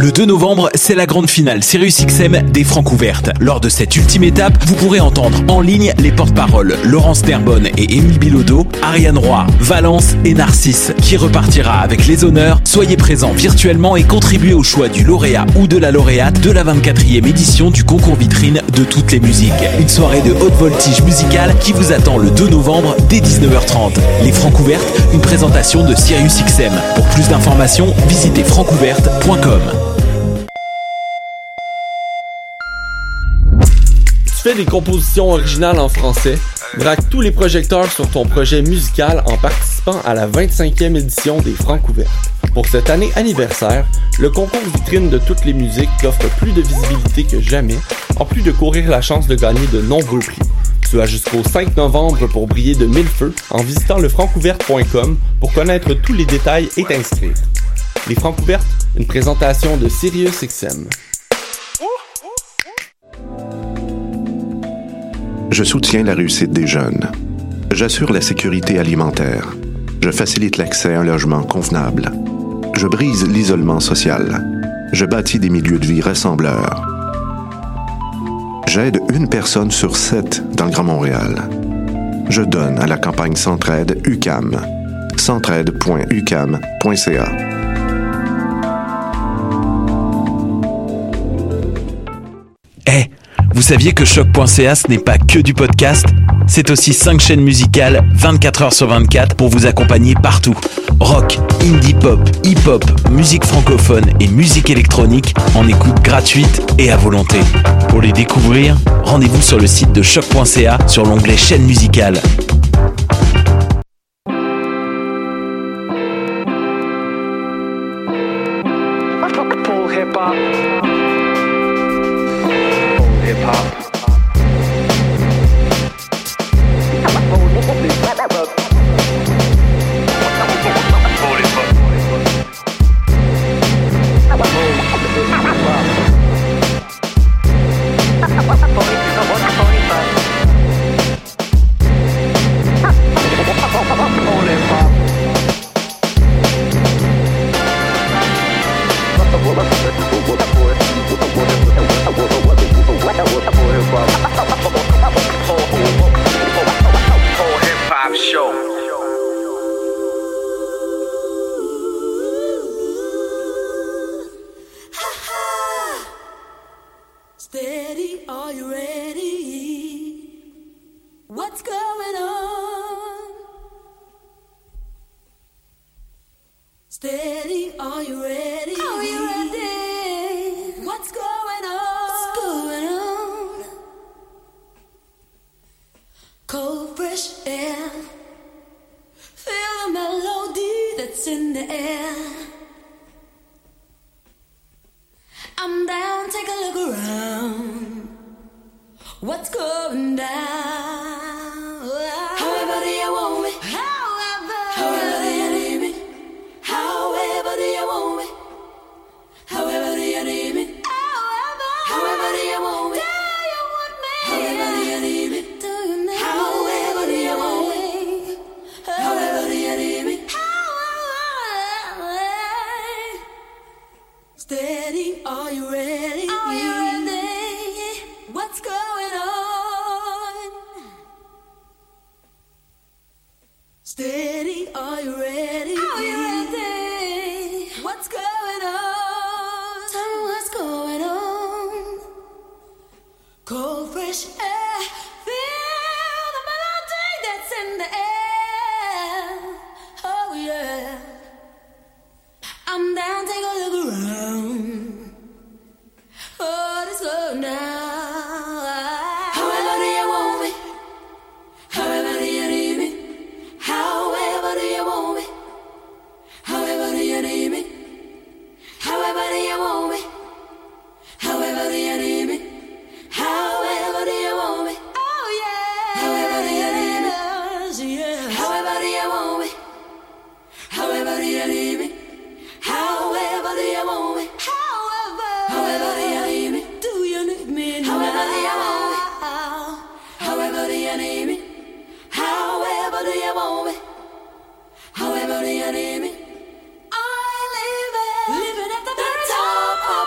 Le 2 novembre, c'est la grande finale SiriusXM des Francouvertes. Lors de cette ultime étape, vous pourrez entendre en ligne les porte-paroles Laurence Terbonne et Émile Bilodeau, Ariane Roy, Valence et Narcisse, qui repartira avec les honneurs. Soyez présents virtuellement et contribuez au choix du lauréat ou de la lauréate de la 24e édition du concours vitrine de toutes les musiques. Une soirée de haute voltige musicale qui vous attend le 2 novembre dès 19h30. Les Francouvertes, une présentation de SiriusXM. Pour plus d'informations, visitez francouverte.com. Tu fais des compositions originales en français? Braque tous les projecteurs sur ton projet musical en participant à la 25e édition des Francouvertes. Pour cette année anniversaire, le concours vitrine de toutes les musiques t'offre plus de visibilité que jamais, en plus de courir la chance de gagner de nombreux prix. Tu as jusqu'au 5 novembre pour briller de mille feux en visitant lefrancouverte.com pour connaître tous les détails et t'inscrire. Les Francouvertes, une présentation de SiriusXM. Je soutiens la réussite des jeunes. J'assure la sécurité alimentaire. Je facilite l'accès à un logement convenable. Je brise l'isolement social. Je bâtis des milieux de vie rassembleurs. J'aide une personne sur 7 dans le Grand Montréal. Je donne à la campagne Centraide UQAM. centraide.uqam.ca. Vous saviez que Choc.ca, ce n'est pas que du podcast? C'est aussi 5 chaînes musicales 24h sur 24 pour vous accompagner partout. Rock, indie pop, hip-hop, musique francophone et musique électronique en écoute gratuite et à volonté. Pour les découvrir, rendez-vous sur le site de Choc.ca sur l'onglet chaîne musicale. Steady, are you ready? What's going on? Steady, are you ready? Are you ready? What's going on? What's going on? Cold, fresh air. Feel the melody that's in the air. I'm down, take a look around. What's going down? However do you want me? However do you need me? However do you want me? However do you need me? However do you want me? However do you need me? However do you want me? However do you need me? Steady, are you ready? Are you ready? What's going on? Steady, are you ready? Are you ready? What's going on? Tell me what's going on. Cold, fresh air. Feel the melody that's in the air. Oh yeah. I'm down, take a look around. What is going on? However do you want me? However do you need me? However do you want me? However do you need me? However do you want me? However do you need me? However do you want me? Oh yeah. However do you need me? Yeah. However do you want me? However do you need me? However do you want me? However do you need me? Do you need me? However do you want me? However do you need me? However do you want me? However do you need me? I live it, living at the very top of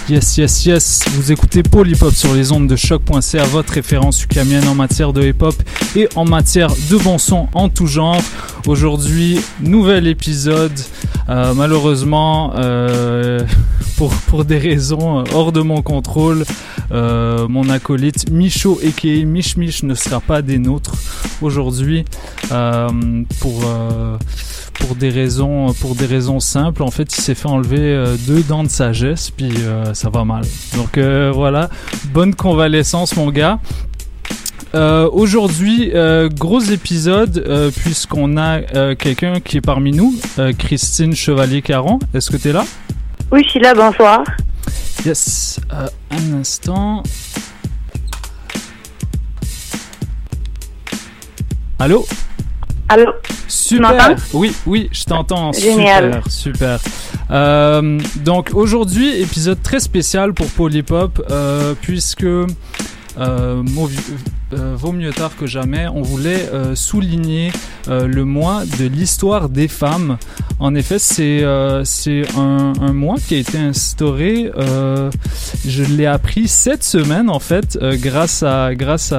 Yes. Vous écoutez Pôle Hip-Hop sur les ondes de choc.ca, votre référence ukamienne en matière de hip-hop et en matière de bon son en tout genre. Aujourd'hui, nouvel épisode. Malheureusement, pour des raisons hors de mon contrôle, mon acolyte Micho aka Mich Mich ne sera pas des nôtres aujourd'hui pour des raisons simples. En fait, il s'est fait enlever 2 dents de sagesse, puis ça va mal. Donc voilà, bonne convalescence mon gars. Aujourd'hui, gros épisode puisqu'on a quelqu'un qui est parmi nous, Christine Chevalier-Caron. Est-ce que t'es là? Oui, je suis là, bonsoir. Yes, un instant. Allô? Allô? Super. Tu m'entends? Oui, je t'entends. Génial. Super. Donc aujourd'hui, épisode très spécial pour Pôle Hip-Hop, puisque vaut mieux tard que jamais, on voulait souligner le mois de l'histoire des femmes. En effet, c'est un mois qui a été instauré, je l'ai appris cette semaine en fait, grâce à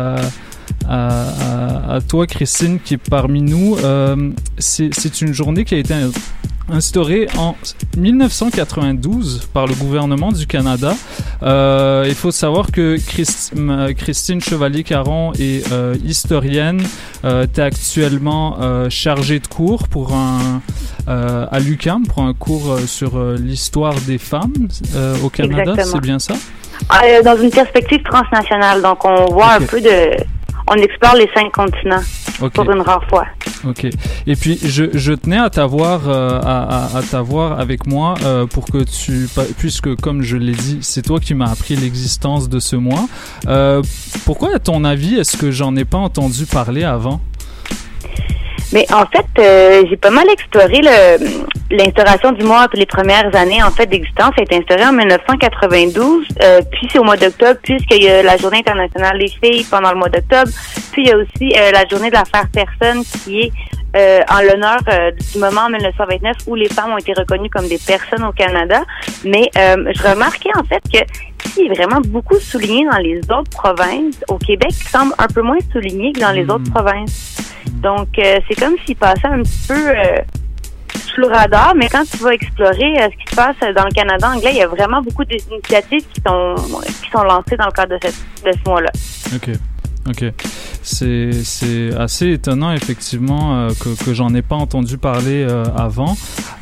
toi Christine qui est parmi nous. C'est une journée qui a été instaurée en 1992 par le gouvernement du Canada. Il faut savoir que Christine Chevalier-Caron est historienne. T'es actuellement chargée de cours pour à l'UQAM pour un cours sur l'histoire des femmes au Canada. Exactement. C'est bien ça? Dans une perspective transnationale, donc on voit un peu on explore les 5 continents pour une rare fois. Ok. Et puis je tenais à t'avoir avec moi pour que puisque comme je l'ai dit, c'est toi qui m'as appris l'existence de ce mois. Pourquoi, à ton avis, est-ce que j'en ai pas entendu parler avant? Mais en fait, j'ai pas mal exploré l'instauration du mois pour les premières années en fait d'existence. Ça a été instauré en 1992, puis c'est au mois d'octobre, puisqu'il y a la Journée internationale des filles pendant le mois d'octobre. Puis il y a aussi la Journée de l'affaire personne qui est en l'honneur du moment en 1929 où les femmes ont été reconnues comme des personnes au Canada. Mais je remarquais en fait que c'est vraiment beaucoup souligné dans les autres provinces. Au Québec, il semble un peu moins souligné que dans les autres provinces. Donc, c'est comme s'il passait un petit peu sous le radar, mais quand tu vas explorer ce qui se passe dans le Canada anglais, il y a vraiment beaucoup d'initiatives qui sont lancées dans le cadre de ce mois-là. Ok. C'est assez étonnant, effectivement, que j'en ai pas entendu parler avant.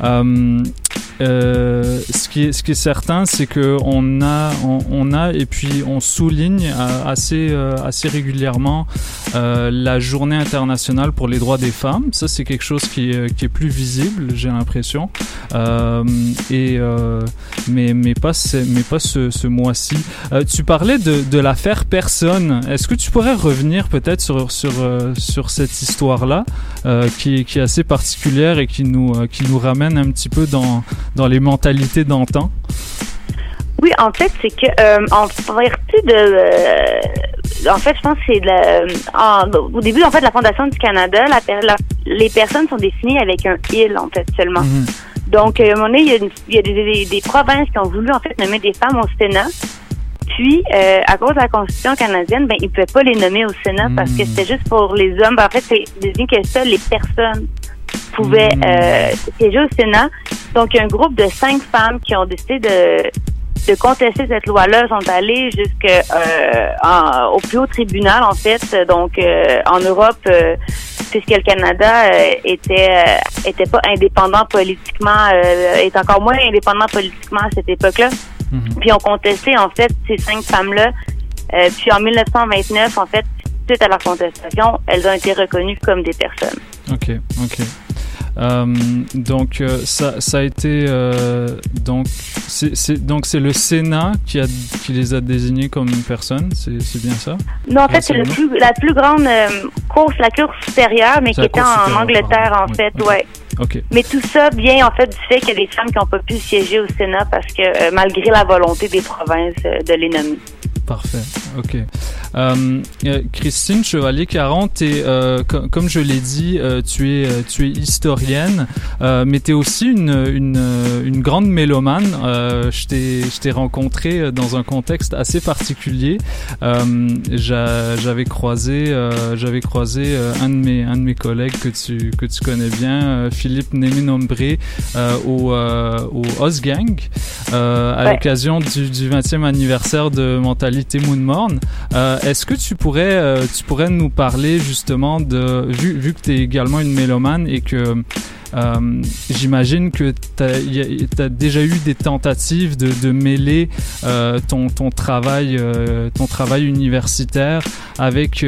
Ce qui est certain, c'est que on a et puis on souligne assez régulièrement la Journée internationale pour les droits des femmes. Ça, c'est quelque chose qui est plus visible, j'ai l'impression. Mais pas ce mois-ci. Tu parlais de l'affaire personne. Est-ce que tu pourrais revenir peut-être sur cette histoire-là qui est assez particulière et qui nous ramène un petit peu dans les mentalités d'antan? Oui, en fait, c'est que en vertu en fait, je pense que c'est au début en fait de la Fondation du Canada, les personnes sont définies avec un il en fait seulement. Mm-hmm. Donc à un moment donné, il y a des provinces qui ont voulu en fait nommer des femmes au Sénat. Puis, à cause de la Constitution canadienne, ils ne pouvaient pas les nommer au Sénat parce que c'était juste pour les hommes. En fait, c'est désigné que seules les personnes pouvaient siéger au Sénat. Donc, il y a un groupe de 5 femmes qui ont décidé de contester cette loi-là, sont allées au plus haut tribunal, en fait. Donc, en Europe, puisque le Canada était pas indépendant politiquement, est encore moins indépendant politiquement à cette époque-là. Mm-hmm. Puis on contesté en fait ces 5 femmes-là. Puis en 1929, en fait, suite à leur contestation, elles ont été reconnues comme des personnes. Ok. Donc ça a été donc c'est le Sénat qui les a désignés comme personnes, c'est bien ça? Non, en fait c'est la plus grande cour supérieure, mais qui était en Angleterre en fait, ouais. Okay. Mais tout ça vient en fait du fait qu'il y a des femmes qui n'ont pas pu siéger au Sénat parce que malgré la volonté des provinces de les nommer. Parfait, ok. Christine Chevalier-Caron, comme je l'ai dit, tu es historienne, mais tu es aussi une grande mélomane. Je t'ai rencontré dans un contexte assez particulier. J'avais croisé un de mes collègues que tu connais bien, Philippe Néminombré, au Osgang, à l'occasion du 20e anniversaire de Mentalité Moonmorn. Est-ce que tu pourrais nous parler justement vu que tu es également une mélomane et que j'imagine que t'as déjà eu des tentatives de mêler ton travail universitaire avec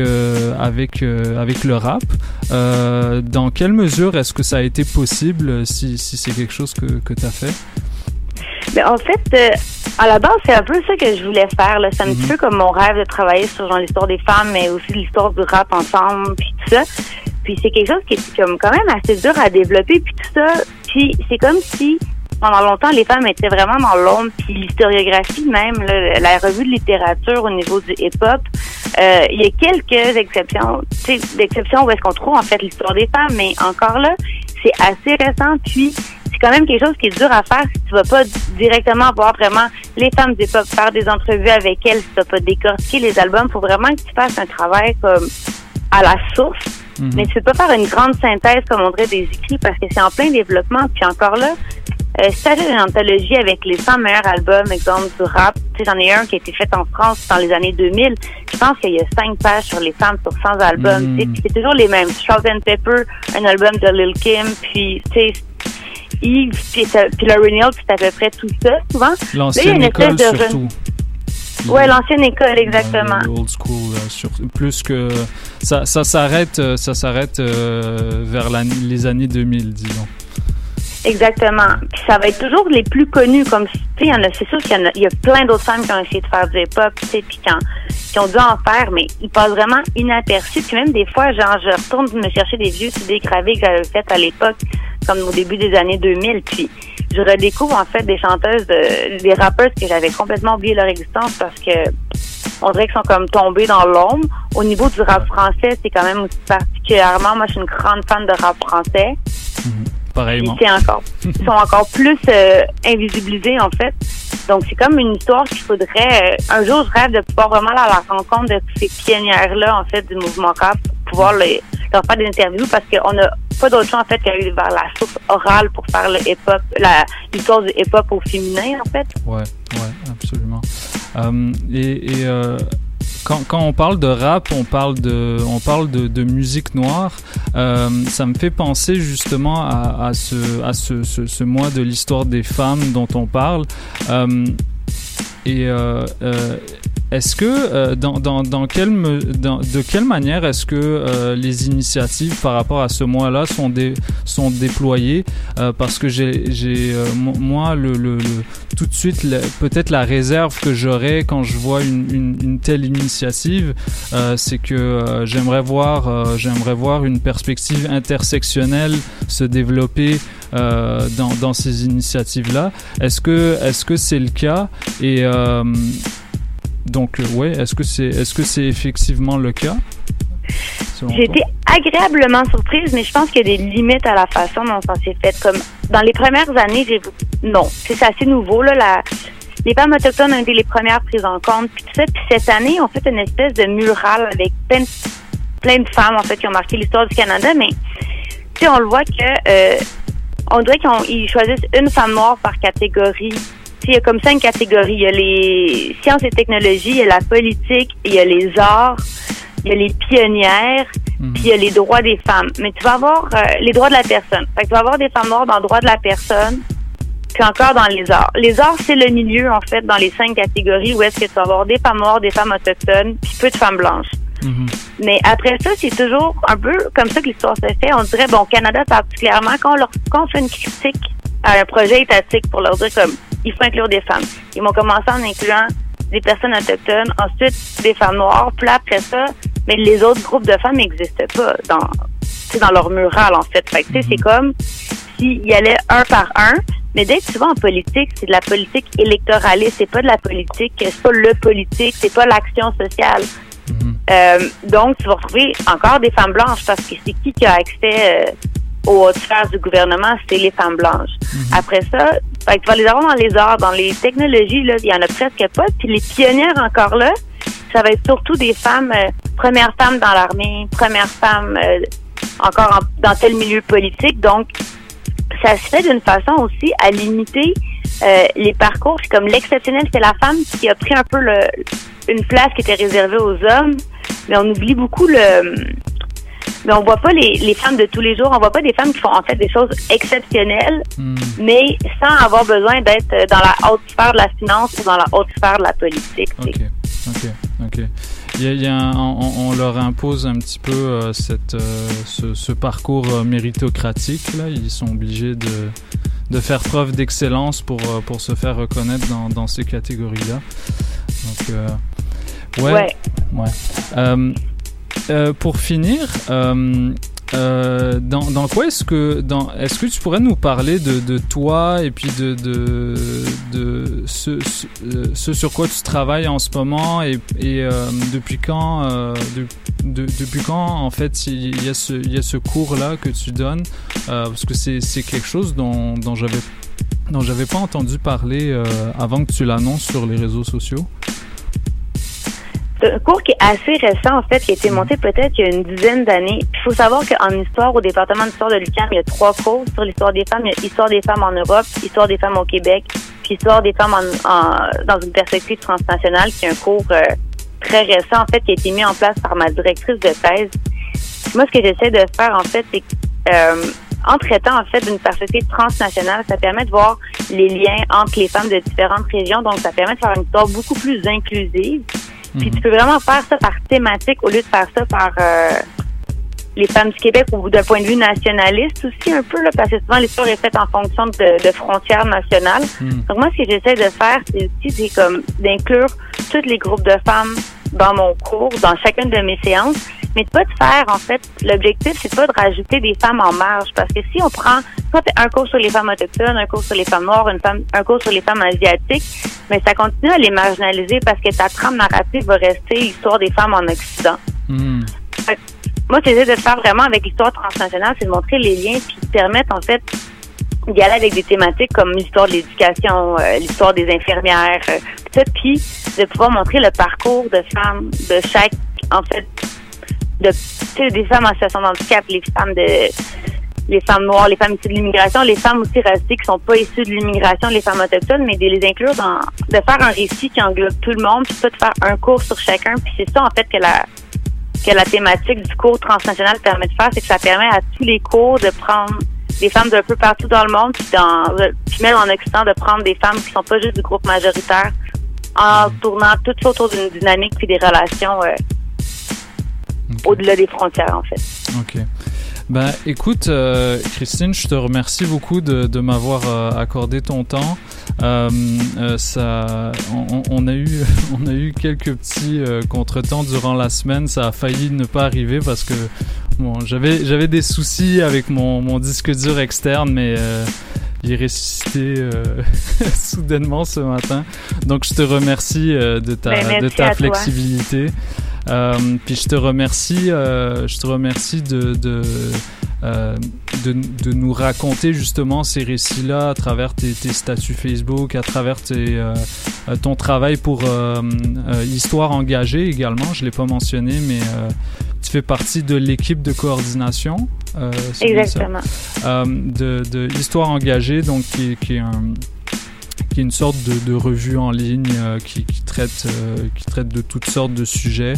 le rap. Dans quelle mesure est-ce que ça a été possible, si c'est quelque chose que t'as fait? Mais en fait, à la base, c'est un peu ça que je voulais faire, là. C'est un petit peu comme mon rêve de travailler sur genre l'histoire des femmes, mais aussi l'histoire du rap ensemble, puis tout ça. Puis c'est quelque chose qui est comme quand même assez dur à développer, puis tout ça. Puis c'est comme si pendant longtemps les femmes étaient vraiment dans l'ombre, puis l'historiographie même, là, la revue de littérature au niveau du hip-hop, il y a quelques exceptions, tu sais, d'exceptions où est-ce qu'on trouve en fait l'histoire des femmes, mais encore là, c'est assez récent, puis c'est quand même quelque chose qui est dur à faire si tu vas pas directement voir vraiment les femmes du hip-hop, faire des entrevues avec elles, si tu vas pas décortiquer les albums. Faut vraiment que tu fasses un travail comme à la source, mais tu peux pas faire une grande synthèse comme on dirait des écrits parce que c'est en plein développement. Puis encore là, si t'achètes une anthologie avec les 100 meilleurs albums, exemple du rap, tu sais, j'en ai un qui a été fait en France dans les années 2000. Je pense qu'il y a 5 pages sur les femmes sur 100 albums. Tu sais, puis c'est toujours les mêmes. Salt and Pepper, un album de Lil Kim, puis tu sais, Yves, puis Lauryn Hill, puis c'est à peu près tout ça, souvent. L'ancienne école, surtout. Ouais, l'ancienne école, exactement. Le old school, plus que... Ça s'arrête vers les années 2000, disons. Exactement. Puis ça va être toujours les plus connus, comme, tu sais, c'est sûr qu'il y a plein d'autres femmes qui ont essayé de faire du hip-hop, tu sais, puis qui ont dû en faire, mais ils passent vraiment inaperçus. Puis même des fois, genre, je retourne me chercher des vieux CD gravés que j'avais fait à l'époque, comme au début des années 2000, puis je redécouvre en fait des chanteuses, des rappeuses que j'avais complètement oublié leur existence parce que on dirait qu'ils sont comme tombés dans l'ombre. Au niveau du rap français, c'est quand même aussi particulièrement, moi je suis une grande fan de rap français. Pareillement. Ils sont encore plus invisibilisés en fait. Donc c'est comme une histoire qu'il faudrait un jour je rêve de pouvoir vraiment aller à la rencontre de ces pionnières-là en fait du mouvement rap pour pouvoir leur faire des interviews parce qu'on a pas d'autre choix en fait qu'à aller vers la source orale pour faire le hip-hop, l'histoire du hip-hop au féminin en fait. Ouais, absolument. Quand on parle de rap, on parle de musique noire. Ça me fait penser justement à ce mois de l'histoire des femmes dont on parle. Est-ce que de quelle manière est-ce que les initiatives par rapport à ce mois-là sont déployées parce que moi tout de suite peut-être la réserve que j'aurais quand je vois une telle initiative c'est que j'aimerais voir une perspective intersectionnelle se développer dans ces initiatives-là. Est-ce que c'est le cas et donc est-ce que c'est effectivement le cas? J'ai été agréablement surprise, mais je pense qu'il y a des limites à la façon dont ça s'est fait. Comme dans les premières années, non, c'est assez nouveau là. Les femmes autochtones ont été les premières prises en compte, puis tout ça. Puis cette année, on fait une espèce de mural avec plein de femmes en fait qui ont marqué l'histoire du Canada, mais tu sais, on le voit que on dirait qu'ils choisissent une femme noire par catégorie. Il y a comme 5 catégories. Il y a les sciences et technologies, il y a la politique, il y a les arts, il y a les pionnières, puis il y a les droits des femmes. Mais tu vas avoir les droits de la personne. Fait que tu vas avoir des femmes noires dans le droit de la personne, puis encore dans les arts. Les arts, c'est le milieu, en fait, dans les 5 catégories où est-ce que tu vas avoir des femmes noires, des femmes autochtones, puis peu de femmes blanches. Mais après ça, c'est toujours un peu comme ça que l'histoire se fait. On dirait, bon, au Canada, particulièrement, quand on fait une critique à un projet étatique pour leur dire comme il faut inclure des femmes. Ils vont commencer en incluant des personnes autochtones, ensuite des femmes noires, puis après ça, mais les autres groupes de femmes n'existaient pas dans leur mural en fait. Fait que tu sais, c'est comme s'ils y allaient un par un, Mais d'être souvent en politique, c'est de la politique électoraliste, c'est pas de la politique, c'est pas le politique, c'est pas l'action sociale. Donc, tu vas retrouver encore des femmes blanches parce que c'est qui a accès aux hautes sphères du gouvernement? C'est les femmes blanches. Après ça, fait que tu vas les avoir dans les arts, dans les technologies, là, il y en a presque pas. Puis les pionnières encore là, ça va être surtout des femmes, premières femmes dans l'armée, premières femmes dans tel milieu politique. Donc, ça se fait d'une façon aussi à limiter les parcours. C'est comme l'exceptionnel, c'est la femme qui a pris un peu une place qui était réservée aux hommes, mais on oublie beaucoup mais on voit pas les femmes de tous les jours, on voit pas des femmes qui font en fait des choses exceptionnelles, mais sans avoir besoin d'être dans la haute sphère de la finance ou dans la haute sphère de la politique. Ok. On leur impose un petit peu ce parcours méritocratique là. Ils sont obligés de faire preuve d'excellence pour se faire reconnaître dans ces catégories-là. Donc ouais. Pour finir, dans quoi est-ce que tu pourrais nous parler de toi et puis de ce sur quoi tu travailles en ce moment et depuis quand en fait il y a ce cours là que tu donnes parce que c'est quelque chose dont j'avais pas entendu parler avant que tu l'annonces sur les réseaux sociaux. C'est un cours qui est assez récent, en fait, qui a été monté peut-être il y a une dizaine d'années. Il faut savoir qu'en histoire, au département d'histoire de l'UQAM, il y a 3 cours sur l'histoire des femmes. Il y a Histoire des femmes en Europe, Histoire des femmes au Québec, puis Histoire des femmes dans une perspective transnationale, qui est un cours très récent, en fait, qui a été mis en place par ma directrice de thèse. Moi, ce que j'essaie de faire, en fait, c'est que en traitant, en fait, d'une perspective transnationale, ça permet de voir les liens entre les femmes de différentes régions. Donc, ça permet de faire une histoire beaucoup plus inclusive. Puis tu peux vraiment faire ça par thématique au lieu de faire ça par les femmes du Québec ou d'un point de vue nationaliste aussi un peu, là, parce que souvent l'histoire est faite en fonction de frontières nationales. Donc moi, ce que j'essaie de faire, c'est comme d'inclure tous les groupes de femmes dans mon cours, dans chacune de mes séances, mais de pas de faire, en fait, l'objectif, c'est pas de rajouter des femmes en marge, parce que si on prend un cours sur les femmes autochtones, un cours sur les femmes noires, un cours sur les femmes asiatiques, mais ça continue à les marginaliser parce que ta trame narrative va rester l'histoire des femmes en Occident. Fait que, moi, ce que j'essaie de faire vraiment avec l'histoire transnationale, c'est de montrer les liens qui permettent, en fait, d'y aller avec des thématiques comme l'histoire de l'éducation, l'histoire des infirmières, tout ça, puis de pouvoir montrer le parcours de femmes de chaque, en fait, des femmes en situation de handicap, les femmes noires, les femmes issues de l'immigration, les femmes aussi racisées qui sont pas issues de l'immigration, les femmes autochtones, mais de les inclure de faire un récit qui englobe tout le monde, puis pas de faire un cours sur chacun. Puis c'est ça, en fait, que la thématique du cours transnational permet de faire, c'est que ça permet à tous les cours de prendre des femmes d'un peu partout dans le monde, puis même en Occident, de prendre des femmes qui sont pas juste du groupe majoritaire, en tournant tout ça autour d'une dynamique puis des relations au-delà des frontières, en fait. OK. Ben, écoute, Christine, je te remercie beaucoup de m'avoir accordé ton temps. On a eu quelques petits contretemps durant la semaine. Ça a failli ne pas arriver parce que bon, j'avais des soucis avec mon disque dur externe, mais il est ressuscité soudainement ce matin. Donc, je te remercie de ta flexibilité. Puis je te remercie de nous raconter justement ces récits-là à travers tes statuts Facebook, à travers ton travail pour Histoire engagée également. Je l'ai pas mentionné, mais tu fais partie de l'équipe de coordination. Exactement. De Histoire engagée, donc qui est une sorte de revue en ligne qui traite de toutes sortes de sujets,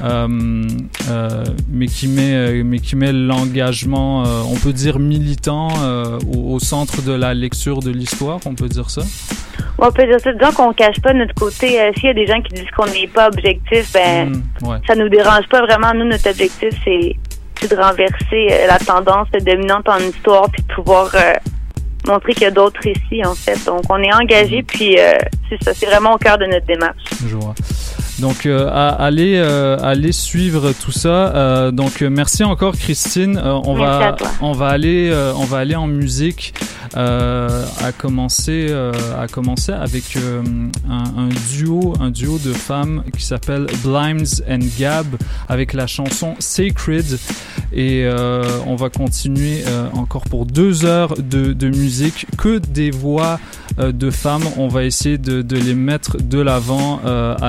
mais qui met l'engagement, on peut dire militant, au centre de la lecture de l'histoire, on peut dire ça? On peut dire ça, disons qu'on cache pas notre côté. S'il y a des gens qui disent qu'on n'est pas objectif, ça nous dérange pas vraiment. Nous, notre objectif, c'est de renverser la tendance dominante en histoire puis de pouvoir montrer qu'il y a d'autres récits, en fait. Donc, on est engagé, puis c'est ça, c'est vraiment au cœur de notre démarche. Je vois. Donc, allez suivre tout ça. Donc, merci encore, Christine. On va aller en musique. a commencé avec un duo de femmes qui s'appelle Blimes and Gab avec la chanson Sacred, et on va continuer encore pour 2 heures de musique, que des voix de femmes. On va essayer de les mettre de l'avant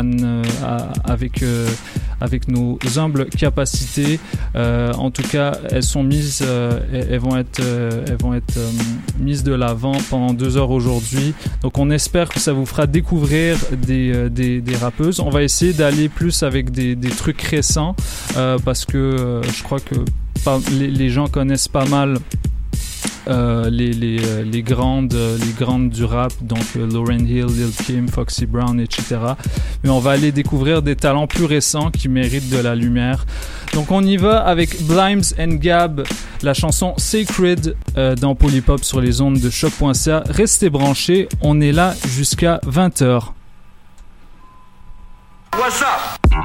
avec nos humbles capacités. En tout cas, elles sont mises, elles vont être mises de l'avant pendant 2 heures aujourd'hui. Donc on espère que ça vous fera découvrir des rappeuses. On va essayer d'aller plus avec des trucs récents, parce que je crois que les gens connaissent pas mal les grandes du rap, donc Lauryn Hill, Lil Kim, Foxy Brown, etc. Mais on va aller découvrir des talents plus récents qui méritent de la lumière. Donc on y va avec Blimes and Gab, la chanson Sacred, dans Polypop sur les ondes de choc.ca. Restez branchés, on est là jusqu'à 20h. What's up?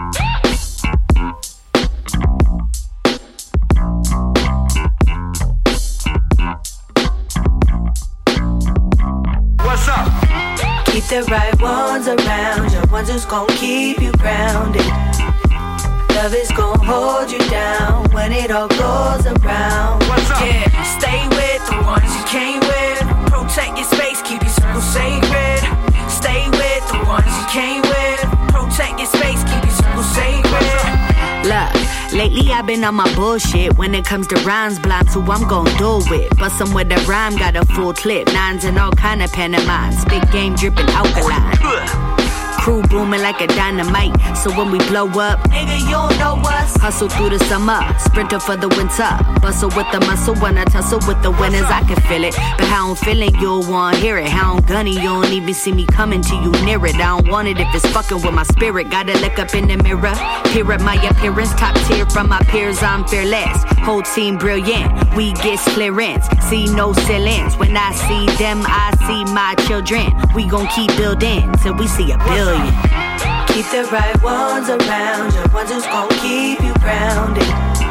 What's up? Keep the right ones around you, ones who's gon' keep you grounded. Love is gon' hold you down when it all goes around. What's up? Yeah, stay with the ones you came with. Protect your space, keep your circle sacred. Stay with the ones you came with. Protect your space, keep your circle sacred. Look, lately I've been on my bullshit. When it comes to rhymes, blind, so I'm gon' do it. But some with the rhyme got a full clip. Nines and all kind of pantomimes. Big game dripping alkaline. Crew booming like a dynamite. So when we blow up, nigga, you don't know us. Hustle through the summer, sprinter for the winter. Bustle with the muscle when I tussle with the winners. I can feel it, but how I'm feeling, you'll want to hear it. How I'm gunny, you don't even see me coming to you near it. I don't want it if it's fucking with my spirit. Gotta look up in the mirror, peer at my appearance. Top tier from my peers, I'm fearless. Whole team brilliant, we get clearance. See no ceilings, when I see them, I see my children. We gon' keep building till we see a billion. Keep the right ones around you, ones who's gon' keep you grounded.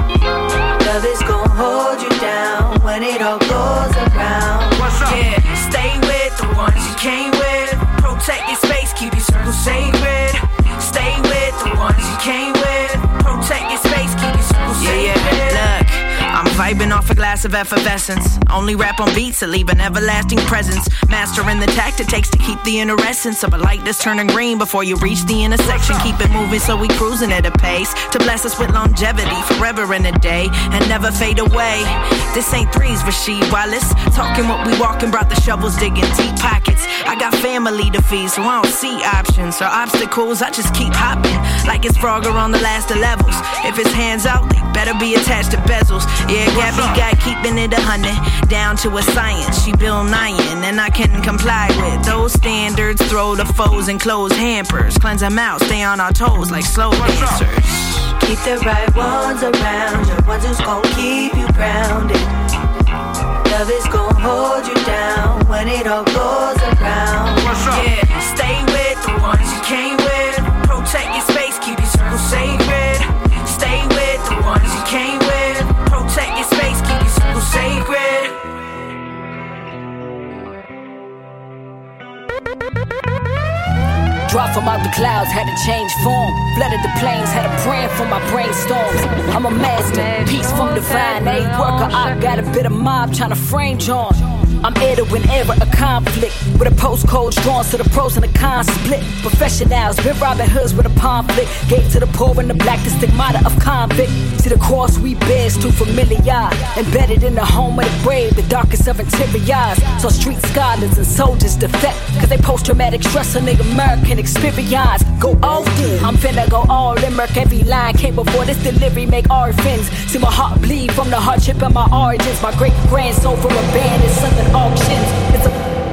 Love is gon' hold you down when it all goes around. What's up? Yeah, stay with the ones you came with. Protect your space, keep your circle sacred. Stay with the ones you came with. Protect your space, keep your circle sacred. Look, I'm vibing off a glass of effervescence. Only rap on beats that leave an everlasting presence. Mastering the tact it takes to keep the inner essence of a light that's turning green before you reach the intersection. Keep it moving so we cruising at a pace to bless us with longevity forever in a day and never fade away. This ain't threes, Rasheed Wallace. Talking what we walking, brought the shovels, digging deep pockets. I got family to feed, so I don't see options or obstacles. I just keep hopping like it's Frogger on the last of levels. If it's hands out, they better be attached to bezels. Yeah, Gabby got keeping it 100, down to a science. She Bill Nyan, and I can comply with those standards. Throw the foes and close hampers. Cleanse them out, stay on our toes like slow dancers. Keep the right ones around you, ones who's gon' keep you grounded. Love is gon' hold you down when it all goes around. What's up? Yeah, stay with the ones you came with. Protect your space, keep your circle sacred. Stay with the ones you came with. Protect your space, keep your circle sacred. Dropped from out the clouds, had to change form. Flooded the plains, had a brand for my brainstorms. I'm a master, peace from divine. A worker, I got a bit of mob trying to frame John. I'm heir to whenever a conflict with a postcode drawn so the pros and the cons split. Professionals, been Robin Hoods with a pamphlet. Gave to the poor and the black the stigmata of convict. See the cross we bear is too familiar. Embedded in the home of the brave, the darkest of interiors. So street scholars and soldiers defect, cause they post-traumatic stress on their American experience. Go all in, I'm finna go all in. Murk every line came before this delivery, make orphans. See my heart bleed from the hardship of my origins. My great grand soul from a band is something auctions. It's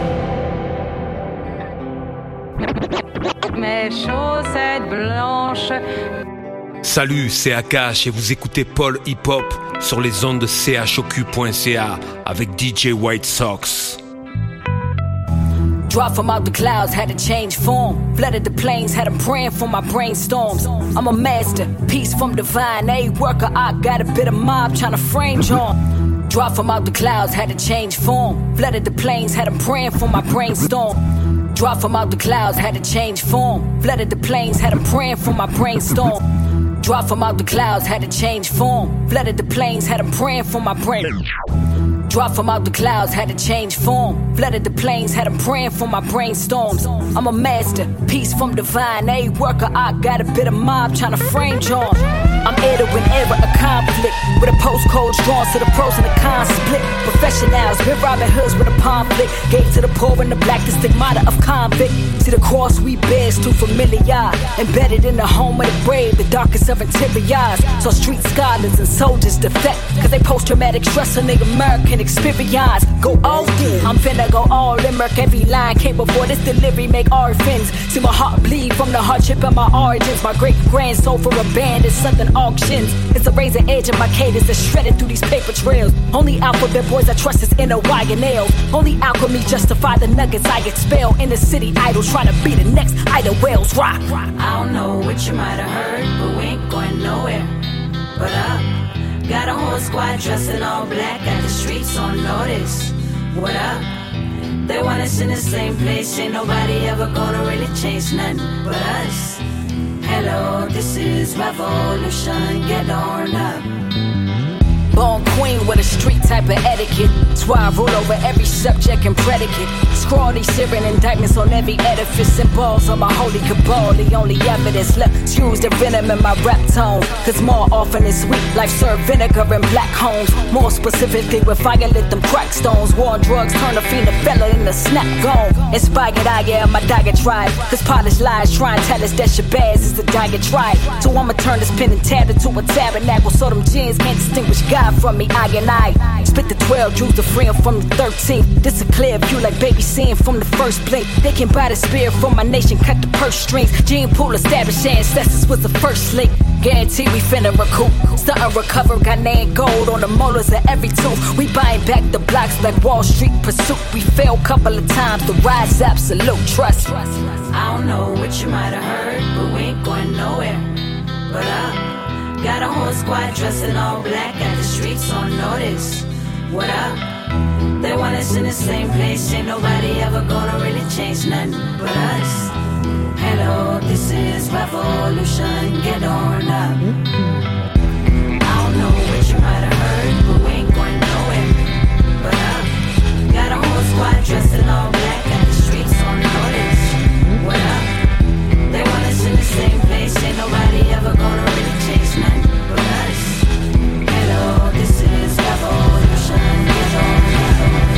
Mes chaussettes blanches. Salut, c'est Akash et vous écoutez Paul Hip Hop sur les ondes de choq.ca avec DJ White Sox. Dropped from out the clouds, had to change form. Flooded the plains, had a praying for my brainstorms. I'm a master, peace from divine. A worker, I got a bit of mob trying to frame John. Dropped from out the clouds, had to change form. Flooded the plains, had them praying for my brainstorm. Dropped from out the clouds, had to change form. Flooded the plains, had them praying for my brainstorm. Dropped from out the clouds, had to change form. Flooded the plains, had them praying for my brain. Dropped from out the clouds, had to change form. Flooded the plains, had them praying for my brainstorms. I'm a master, peace from divine. A worker, I got a bit of mob trying to frame John. I'm heir to an era of conflict, with a postcode drawn so the pros and the cons split. Professionals, been Robin Hoods with a conflict. Gave to the poor and the black, the stigmata of convict. See the cross we bear is too familiar. Embedded in the home of the brave, the darkest of interiors. So street scholars and soldiers defect, cause they post-traumatic stress on the American experience. Go all in, I'm finna go all in. Murk every line came before this delivery, make orphans. See my heart bleed from the hardship of my origins. My great-grand sold for a band is something auctions. It's a razor edge of my cadence that's shredded through these paper trails. Only alphabet boys I trust is inner wire nails. Only alchemy justify the nuggets I expel. In the city idols trying to be the next Ida Wells rock. I don't know what you might have heard, but we ain't going nowhere. But got a whole squad dressed in all black, got the streets on notice. What up? They want us in the same place, ain't nobody ever gonna really change nothing but us. Hello, this is revolution, get on up. Born queen with a street type of etiquette. That's why I rule over every subject and predicate. Scrawl these searing indictments on every edifice. And balls on my holy cabal. The only evidence left is use the venom in my rap tone. Cause more often it's sweet, life served vinegar in black homes. More specifically with fire lit them crack stones. War on drugs turn a fiend, a fella in the snap gone. Inspired I am my diatribe. Cause polished lies try and tell us that Shabazz is the diatribe. So I'ma turn this pen and tab into a tabernacle. So them jeans can't distinguish God from me, I and I spit the 12 jewels to free 'em from the 13th. This a clear view like baby seeing from the first blink. They can buy the spirit from my nation, cut the purse strings. Gene pool established ancestors was the first link. Guarantee we finna recoup. Stunt and recover, got name gold on the molars of every tooth. We buying back the blocks like Wall Street pursuit. We failed couple of times, the rise absolute trust. I don't know what you might have heard, but we ain't going nowhere. But got a whole squad dressed in all black, got the streets on notice. What up? They want us in the same place, ain't nobody ever gonna really change nothing but us. Hello, this is revolution, get on up. I don't know what you might have heard, but we ain't going nowhere. But got a whole squad dressed in all black, got the streets on notice. What up? They want us in the same place, ain't nobody ever gonna really change nothing but us. Hello, this is revolution, get on up.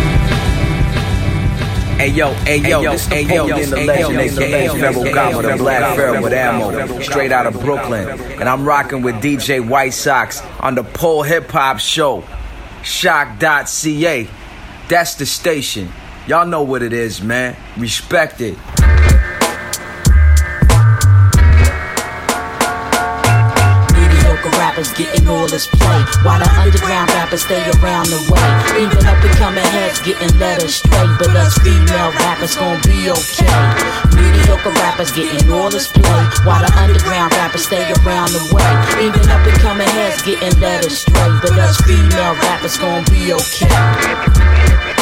Ayo, this Napoleon the Legend, aka Ferragamo, the Black Pharaoh with ammo, straight out of Brooklyn. And I'm rocking with DJ White Sox on the Pole Hip Hop Show, shock.ca. That's the station. Y'all know what it is, man. Respect it. Rappers getting all this play, while the underground rappers stay around the way. Even up and coming heads getting led astray, but us female rappers gon' be okay. Mediocre rappers getting all this play, while the underground rappers stay around the way. Even up and coming heads getting led astray, but us female rappers gon' be okay.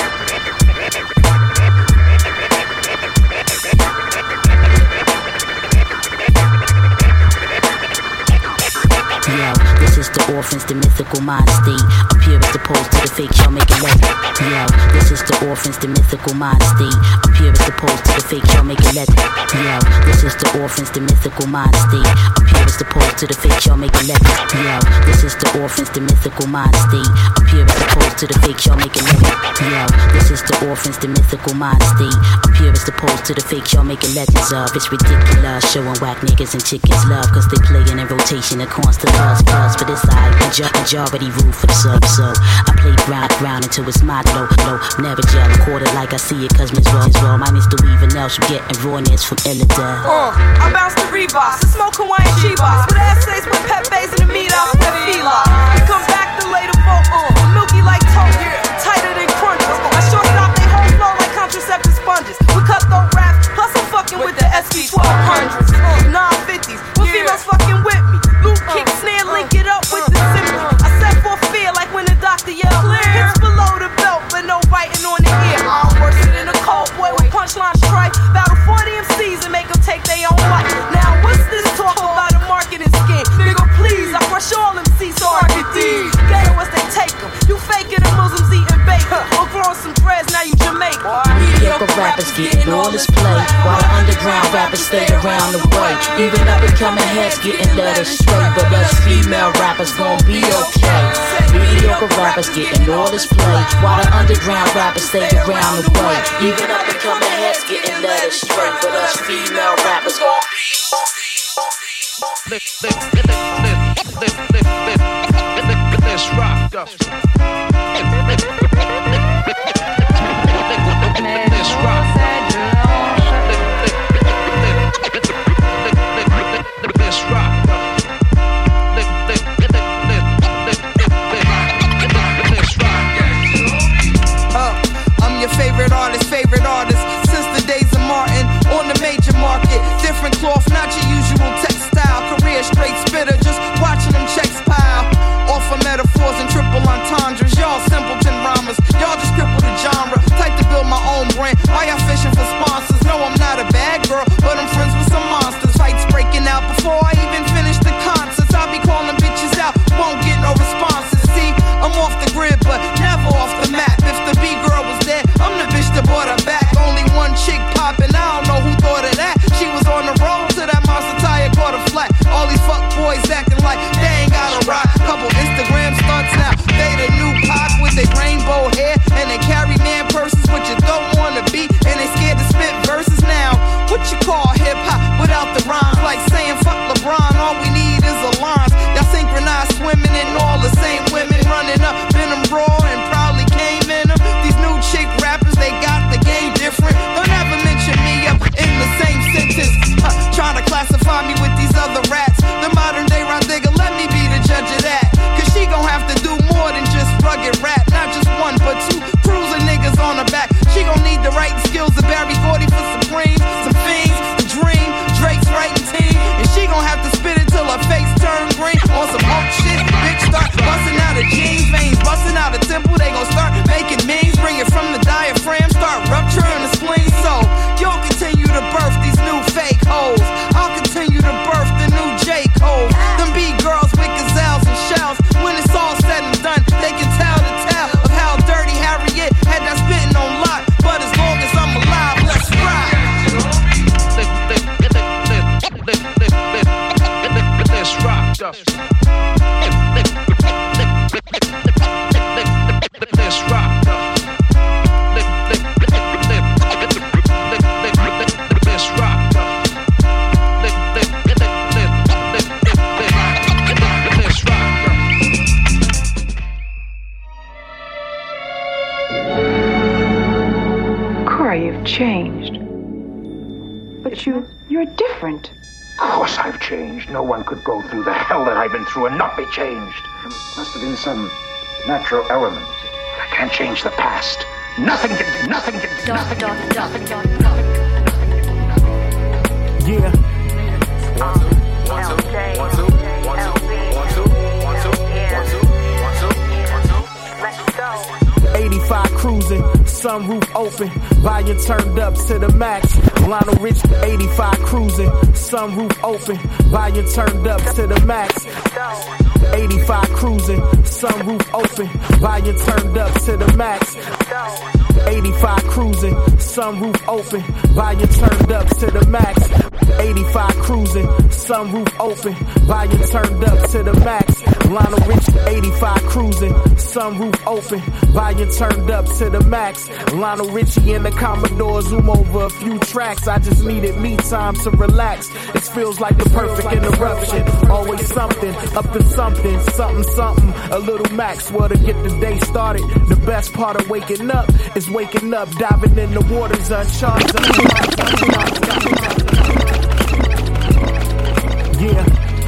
The orphans, the mythical mind state. I'm pure as opposed to the fake y'all making legend. Yo, this is the orphans, the mythical mind state. I'm pure as opposed to the fake y'all making legend. Yo, this is the orphans, the mythical mind state. I'm pure as opposed to the fake y'all making legend. Yo, this is the orphans, the mythical mind state. I'm pure as opposed to the fake y'all making legend. Yo, this is the orphans, the mythical mind state. I'm pure as opposed to the fake y'all making legends of. It's ridiculous, showing whack niggas and chickens love, cause they playing in rotation and constant buzz. For this side, majority rule for the sub, so I play ground until it's my low. Never gel, quarter like I see it, cause Miss Raw minus the weaving else, I'm getting rawness from Illidale. I bounce the Reeboks, I smoke Hawaiian Chivas, with essays with Pepe's and the meat off with Fila. We come back to lay the boat milky like toast, tighter than crunches. I short stop they whole flow like contraceptive sponges. We cut those raps, plus I'm fucking with the SB 1200s, 950s. When females fucking with me, Luke kick snare, link it up with the symphony. I set for fear like when the doctor yelled. around the way. Even up and coming heads getting led astray, but us female rappers gon' be okay. Mediocre rappers getting all this play, while the underground rappers stay around the way. Even up and coming heads getting led astray, but us female rappers gon' be Let's rock up. Let's rock. Let's rock. I'm your favorite artist since the days of Martin on the major market. Different cloth, not your usual textile. Career straight spitter, just watching them checks pile. Off of metaphors and triple entendres. Y'all simpleton rhymers, y'all just cripple the genre. Type to build my own brand. Why y'all fishing for sponsors? No, I'm not a bad girl, but I'm friends with some monsters. Fights breaking out before I even finish the concerts. I'll be calling bitches out, won't get no responses. See, I'm off the grid, but never off the map. If the B-girl was there, I'm the bitch that brought her back. Only one chick poppin', I don't know who thought of that. She was on the road to that monster tire, caught a flat. All these fuck boys acting like they ain't got a rock. Couple Instagram stunts now, they the new Pac with their rainbow hair. And they carry man purses, what you don't wanna be. And they scared to spit verses now. What you call hip-hop without the rhymes? Like saying fuck LeBron, all we need is a line. Y'all synchronized swimming in all the same women. Running up in them raw and probably came in them. These new chick rappers, they got the game different. Don't ever mention me up in the same sentence. Trying to classify me with these other rats. The modern day Rod Digger, let me be the judge of that. Cause she gon' have to do more than just rugged rap. Not just one, but two cruising niggas on her back. She gon' need the writing skills to Barry 40 for Supreme. Some fiends, the dream, Drake's writing team. And she gon' have to spit it till her face turn green. On some Hulk shit, bitch start busting out of jeans. Veins busting out of temple, they gon' start making memes. Bring it from the diaphragm, start rupturing the spleen. So, you'll continue to birth these new fake hoes. I'll continue to birth the new J. Cole. Them B-girls with gazelles and shells. When it's all said and done, they can tell the tale of how dirty Harriet had that spitting on lock. But as long as I'm alive, let's ride. Let's rock up. Let's rock up. Let's rock up. Let's rock up. Corey, you've changed. But you're different. Of course I've changed. No one could go through the hell that I've been through and not be changed. There must have been some natural element. I can't change the past. Nothing can. Yeah. 85 cruising, sunroof open, volume turned up to the max. Lionel Richie, 85 cruising, sunroof open, volume turned up to the max. 85 cruising, sunroof open, volume turned up to the max. 85 cruising, sunroof open, volume turned up to the max. 85 cruising, sunroof open, volume turned up to the max. Lionel Richie, 85 cruising, sunroof open, volume turned up to the max. Lionel Richie and the Commodore zoom over a few tracks. I just needed me time to relax. It feels like the perfect interruption. Always something, up to something, something. A little max, well to get the day started. The best part of waking up is waking up, diving in the waters uncharted. Yeah.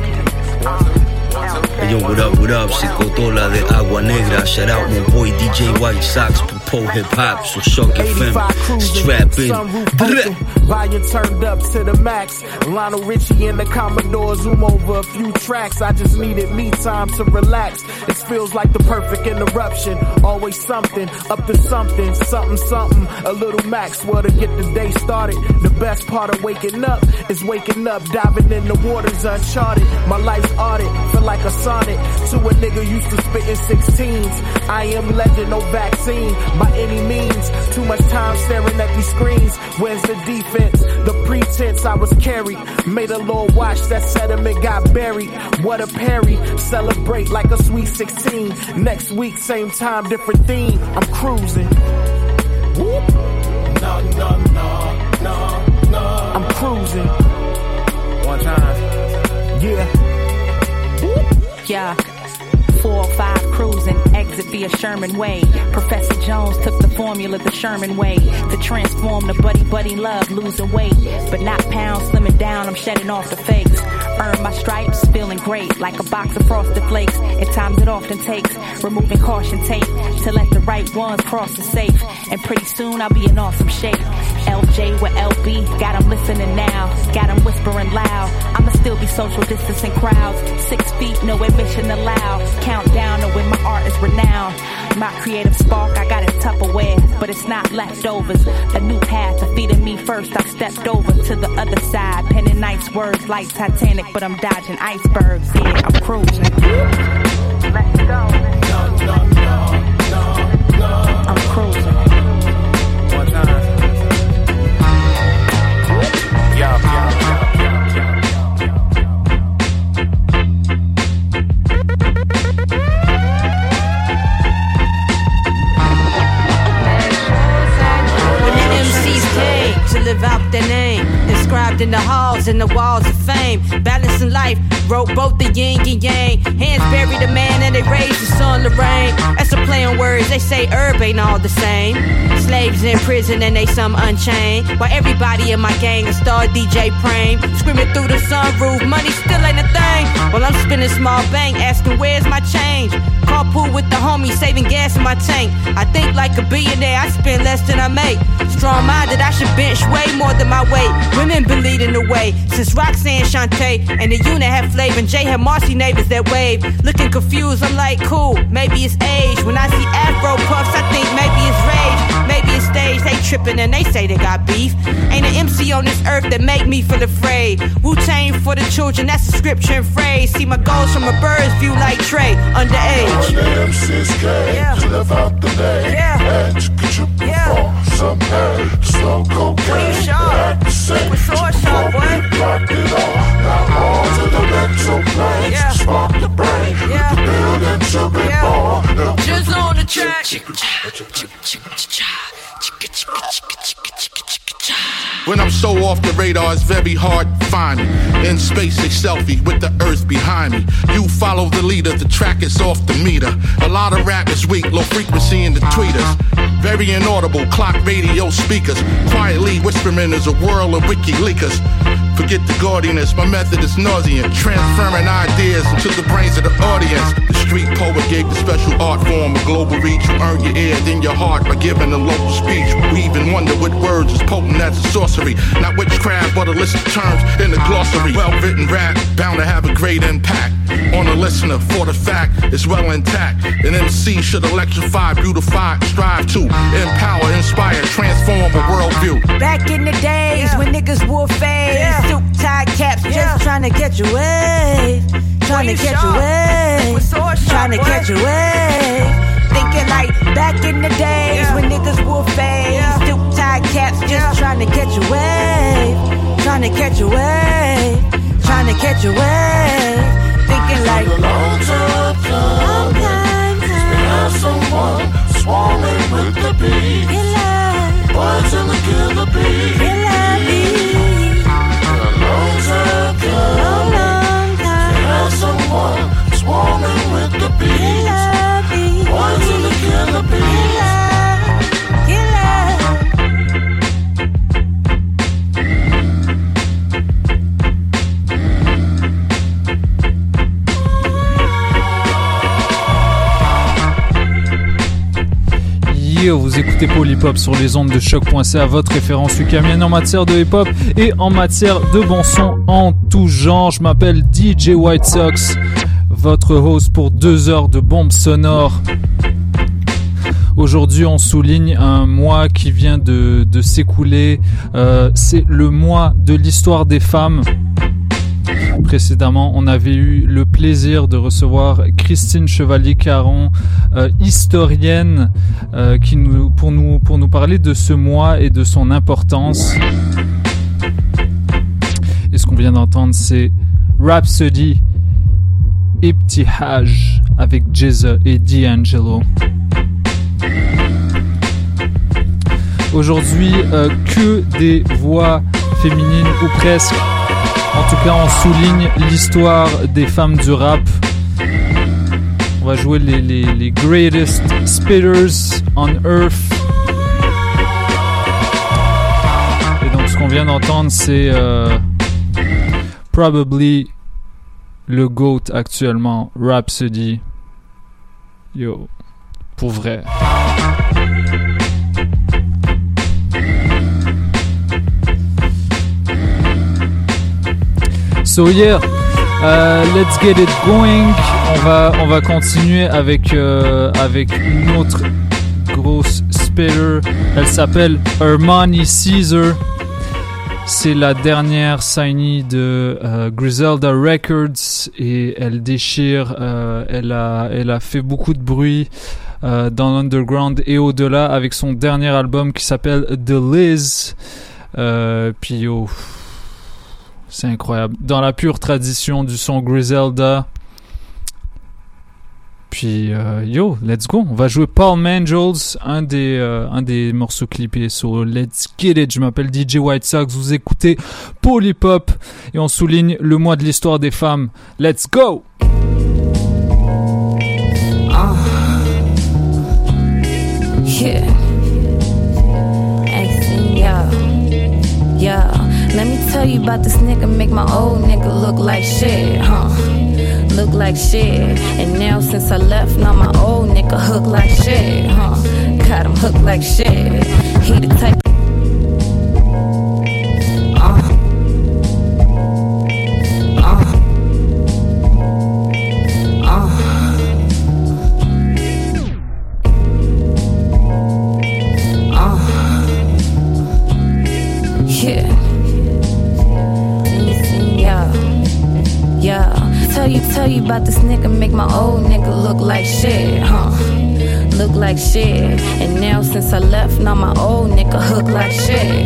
Hey yo, what up, Psicotola de Agua Negra. Shout out my boy DJ White Sox, Popo Hip Hop, so Shock FM, strap in. Volume turned up to the max. Lionel Richie and the Commodore zoom over a few tracks. I just needed me time to relax. It feels like the perfect interruption. Always something, up to something. A little max, well to get the day started. The best part of waking up is waking up, diving in the waters uncharted. My life's audit, feel like a sonnet to a nigga used to spit in 16s. I am legend, no vaccine. by any means. Too much time staring at these screens. Where's the defense? The pretense I was carried. Made a little watch, that sediment got buried. What a parry. Celebrate like a sweet 16. Next week, same time, different theme. I'm cruising. Whoop. No, no, no, no, no. I'm cruising. One time. Yeah. Whoop. Yeah. 405 cruising, exit via Sherman Way. Professor Jones took the formula the Sherman way to transform the buddy love, losing weight, but not pounds, slimming down. I'm shedding off the fakes. Earn my stripes, feeling great like a box of Frosted Flakes. At times it often takes removing caution tape to let the right ones cross the safe. And pretty soon I'll be in awesome shape. LJ with LB, got 'em listening now, got 'em whispering loud. I'ma still be social distancing crowds. 6 feet, no admission allowed. Countdown to when my art is renowned. My creative spark, I got it Tupperware, but it's not leftovers. A new path to feeding me first. I stepped over to the other side, penning nice words like Titanic, but I'm dodging icebergs. Yeah, I'm cruising. Let's go. I'm cruising. One time. Yeah. To live out their name, inscribed in the halls and the walls of fame. Balancing life, wrote both the yin and yang. Hands buried a man and they raised the sun to rain. That's a play on words, they say herb ain't all the same. Slaves in prison and they some unchained. While everybody in my gang a star DJ Prame. Screaming through the sunroof, money still ain't a thing. While I'm spinning small bank, asking where's my change. Carpool with the homies, saving gas in my tank. I think like a billionaire, I spend less than I make. Strong-minded, I should bench way more than my weight. Women been leading the way since Roxanne Shante and the unit had flavor and Jay had Marcy neighbors that wave. Looking confused, I'm like, cool, maybe it's age. When I see Afro puffs, I think maybe it's rage. Maybe it's stage, they tripping and they say they got beef. Ain't an MC on this earth that make me feel afraid. Wu-Tang for the children, that's a scripture and phrase. See my goals from a bird's view like Trey, underage. Yeah. To live out the day. Yeah. And you could you perform some hay, slow cocaine. We sharp. We so sharp, boy. Rock it all. Now on to the mental plane. Yeah. Spark the brain. Yeah. The building to be born. Just on the track. When I'm so off the radar, it's very hard to find me. In space, a selfie with the earth behind me. You follow the leader, the track is off the meter. A lot of rap is weak, low frequency in the tweeters. Very inaudible, clock radio speakers. Quietly whispering is a whirl of WikiLeakers. Forget the gaudiness, my method is nauseant. Transferring ideas into the brains of the audience. The street poet gave the special art form a global reach. You earn your ear, then your heart by giving a local speech. We even wonder what words is potent as a sorcery. Not witchcraft, but a list of terms in the glossary. Well-written rap, bound to have a great impact on the listener, for the fact it's well intact. An MC should electrify, beautify, strive to empower, inspire, transform a worldview. Back in the days when niggas wore fades, suit tie caps, just trying to catch your wave, trying to catch your wave, trying to catch your wave. Thinking like back in the days when niggas wore fades, suit tie caps, just trying to catch your wave, trying to catch your wave, trying to catch your wave. Thinking like long time, have someone swarming with the bees. Birds in the killer bees. Long time, have someone swarming with the bees. Birds in the killer bees. Yo, vous écoutez Paul Hip Hop sur les ondes de choc.ca, votre référence ukamienne en matière de hip hop et en matière de bon son en tout genre. Je m'appelle DJ White Sox, votre host pour 2 heures de bombes sonores. Aujourd'hui, on souligne un mois qui vient de s'écouler. C'est le mois de l'histoire des femmes. Précédemment, on avait eu le plaisir de recevoir Christine Chevalier-Caron, historienne, pour nous parler de ce mois et de son importance. Et ce qu'on vient d'entendre, c'est Rhapsody Ibtihaj avec Jizza et D'Angelo. Aujourd'hui, que des voix féminines ou presque. En tout cas, on souligne l'histoire des femmes du rap. On va jouer les greatest spitters on earth. Et donc, ce qu'on vient d'entendre, c'est probably le GOAT actuellement, Rhapsody. Yo, pour vrai. So yeah, let's get it going. On va continuer avec une autre grosse spitter. Elle s'appelle Armani Caesar. C'est la dernière signée de Griselda Records et elle déchire. Elle a fait beaucoup de bruit dans l'underground et au-delà avec son dernier album qui s'appelle The Liz. Puis yo, c'est incroyable. Dans la pure tradition du son Griselda. Puis yo, let's go. On va jouer Paul Mangels, un des morceaux clippés sur Let's Get It. Je m'appelle DJ White Sox. Vous écoutez Paul Hip Hop et on souligne le mois de l'histoire des femmes. Let's go. Yeah. Yeah. Let me tell you about this nigga, make my old nigga look like shit, look like shit. And now since I left, now my old nigga hook like shit, got him hooked like shit. He the type Tell you about this nigga, make my old nigga look like shit, look like shit. And now since I left, now my old nigga hook like shit,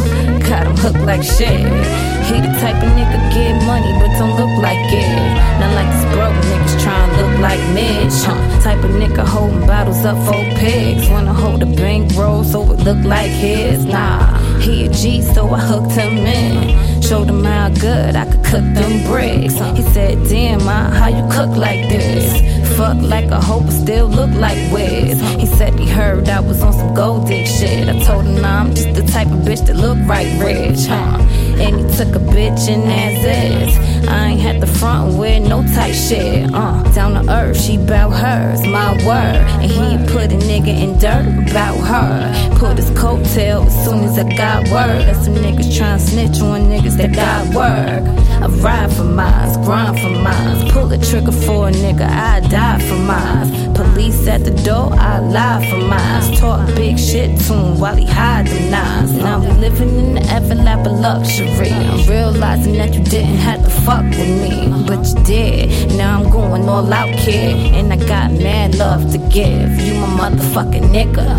got him hooked like shit. He the type of nigga get money but don't look like it. Not like this broke niggas tryna look like Mitch, type of nigga holding bottles up for pigs. Wanna hold a bankroll so it look like his. Nah, he a G so I hooked him in. Showed him how good I could cook them bricks. He said, damn, how you cook like this? Fuck like a hoe but still look like Wiz. He said he heard I was on some gold dick shit. I told him, nah, I'm just the type of bitch that look right rich, And he took a bitch and as is. I ain't had the front with no tight shit, Down to earth, she bout hers, my word. And he put a nigga in dirt about her. Put his coattail as soon as I got word. That some niggas tryna snitch on niggas that got work. I ride for mines, grind for mines. Pull the trigger for a nigga, I die for mines. Police at the door, I lie for mines. Talk big shit to him while he hide the nines. Now we living in the everlap of luxury. I'm realizing that you didn't have to fuck with me, but you did. Now I'm going all out, kid, and I got mad love to give. You my motherfucking nigga.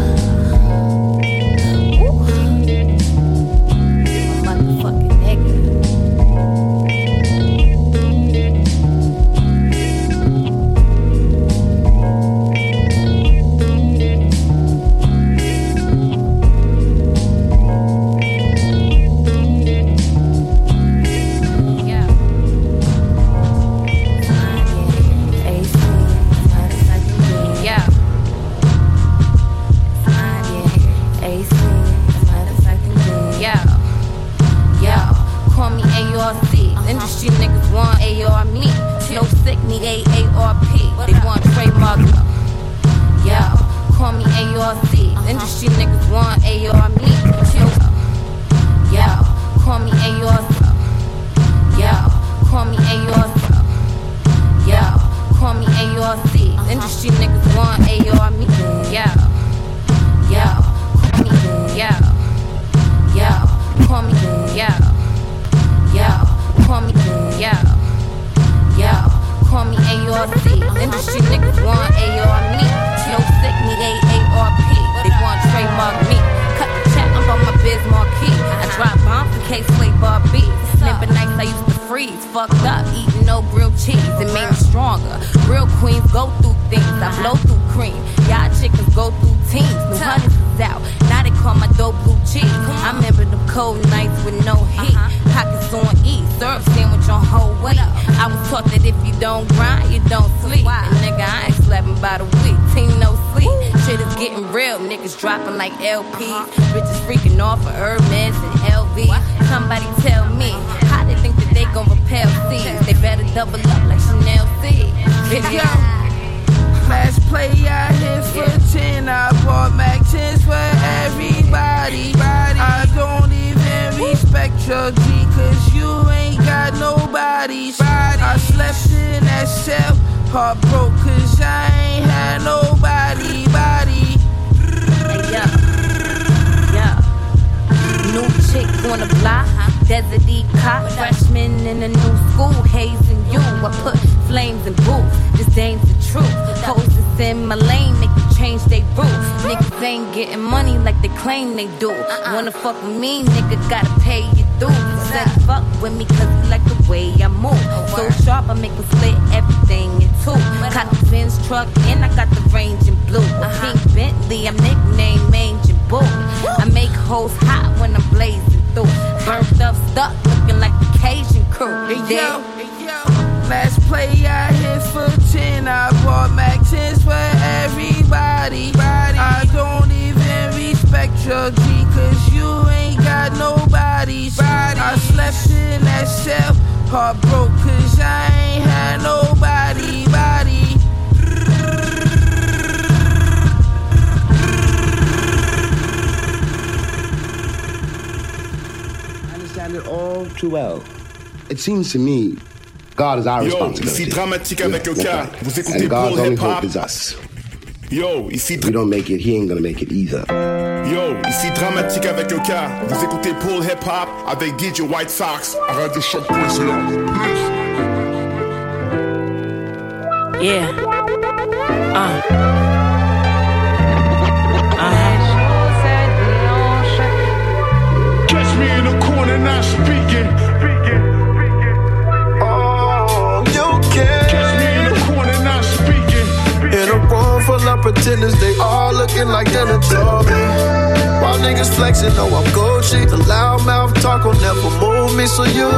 Yeah. case flavor beef. Remember nights I used to freeze, fucked up, eating no grilled cheese. It made me stronger. Real queens go through things. I blow through cream. Y'all chickens go through teams. New Hunters is out. Now they call my dope blue cheese. I remember them cold nights with no heat. Pockets on E, syrup sandwich on whole wheat. I was taught that if you don't grind, you don't sleep. And nigga, I ain't slapping by the week. Team no sleep. Shit is getting real. Niggas dropping like LPs. Bitches freaking off for Hermes and LV. Somebody tell me how they think that they gon' repel seeds. They better double up like Chanel C. Last play I hit for 10. I bought Mac 10s for everybody. I don't even respect your G, cause you ain't got nobody's. I slept in that cell, heartbroke, cause I ain't had nobody. New chick on the block, Desert cop, freshman in a new school, hazing you. I put flames in boots, this ain't the truth. Hoes that's in my lane make you change they rules. Niggas ain't getting money like they claim they do. Wanna fuck with me, nigga, gotta pay your dues. Said fuck with me cause you like the way I move. So sharp, I make them split everything in two. Caught the Benz truck and I got the range in blue. A pink Bentley, I'm nicknamed Mange and Boo. I make hoes hot when I'm blazing through. Burnt up, stuck, looking like the Cajun crew. Last play I hit for 10. I bought Mac 10s for everybody. I don't even respect your G, cause you ain't got nobody's. I slept in that cell, heartbroke, cause I ain't had nobody. I understand it all too well. It seems to me God is our responsibility. Ici Dramatique avec Oka. Vous écoutez Paul Hip Hop. Is us. Yo, ici. If we don't make it, he ain't gonna make it either. Yo, ici Dramatique avec Oka. Vous écoutez Paul Hip Hop avec DJ White Sox à Radio Choc.ca. Yeah. Catch me in the corner not speaking. In a room full of pretenders, they all looking like they adore me. While niggas flexing, know I'm Gucci. The loudmouth talk will never move me, so you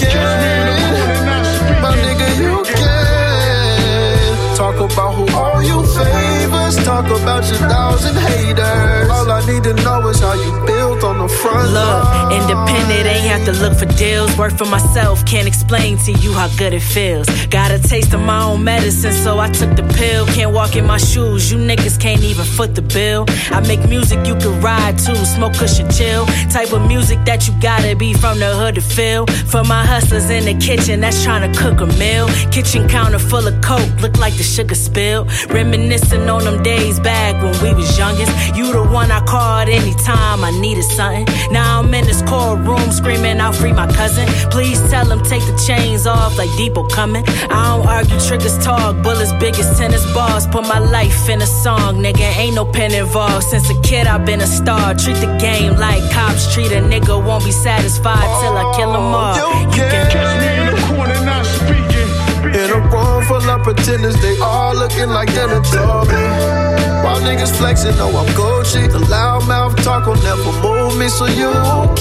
can. My nigga, you can. Talk about who all you favors. Talk about your doubts and haters. All I need to know is how you built on the front line. Independent, ain't have to look for deals. Work for myself, can't explain to you how good it feels. Got a taste of my own medicine, so I took the pill. Can't walk in my shoes, you niggas can't even foot the bill. I make music you can ride to, smoke cushion chill. Type of music that you gotta be from the hood to feel. For my hustlers in the kitchen that's trying to cook a meal. Kitchen counter full of coke, look like the sugar spill. Reminiscing on them days back when we was youngest. You the one I called anytime I needed something. Now I'm in this courtroom screaming out free my cousin. Please tell him take the chains off like Depot coming. I don't argue, triggers talk, bullets big as tennis balls. Put my life in a song, nigga, ain't no pen involved. Since a kid I've been a star. Treat the game like cops treat a nigga. Won't be satisfied till I kill them all. You can catch me in the corner not speaking. In a room full of pretenders, they all looking like they adore me. While niggas flexing, know I'm Gucci. The loudmouth talk will never move me, so you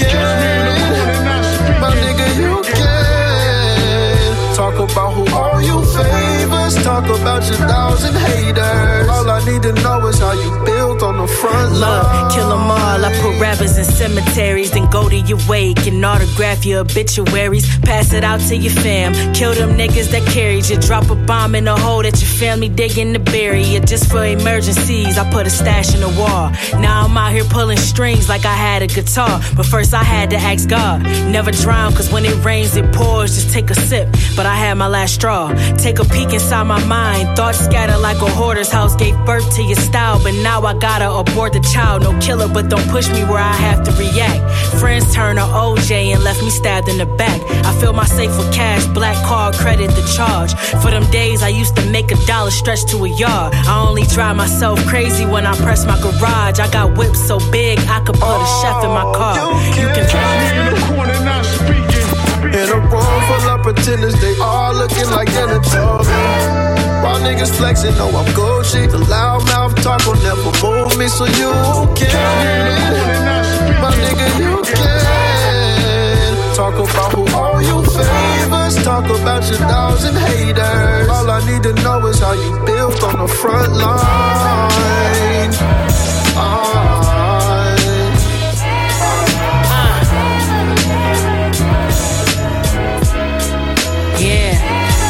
can. My nigga, you can. Talk about who all you favors. Talk about your doubts and haters. All I need to know is how you built on the front line. Look, kill them all. I put rappers in cemeteries, then go to your wake and autograph your obituaries. Pass it out to your fam. Kill them niggas that carried you. Drop a bomb in a hole that your family digging to bury you. Just for emergencies, I put a stash in the wall. Now I'm out here pulling strings like I had a guitar. But first I had to ask God. Never drown, cause when it rains it pours. Just take a sip, but I had my last straw. Take a peek inside my mind. Thoughts scatter like a hoarder's house. Gave birth to your style, but now I gotta abort the child. No killer, but don't push me where I have to react. Friends turn to OJ and left me stabbed in the back. I fill my safe with cash, black card credit the charge. For them days I used to make $1 stretch to a yard. I only drive myself crazy when I press my garage. I got whips so big I could put a chef in my car. You can catch me in the corner not speaking. In a room full of pretenders, they all looking like Anatomy. While niggas flexing, know I'm Gucci. The loudmouth talk will never move me, so you can. My nigga, you can. Talk about who owe you favors. Talk about your dogs and haters. All I need to know is how you built on the front line. Yeah.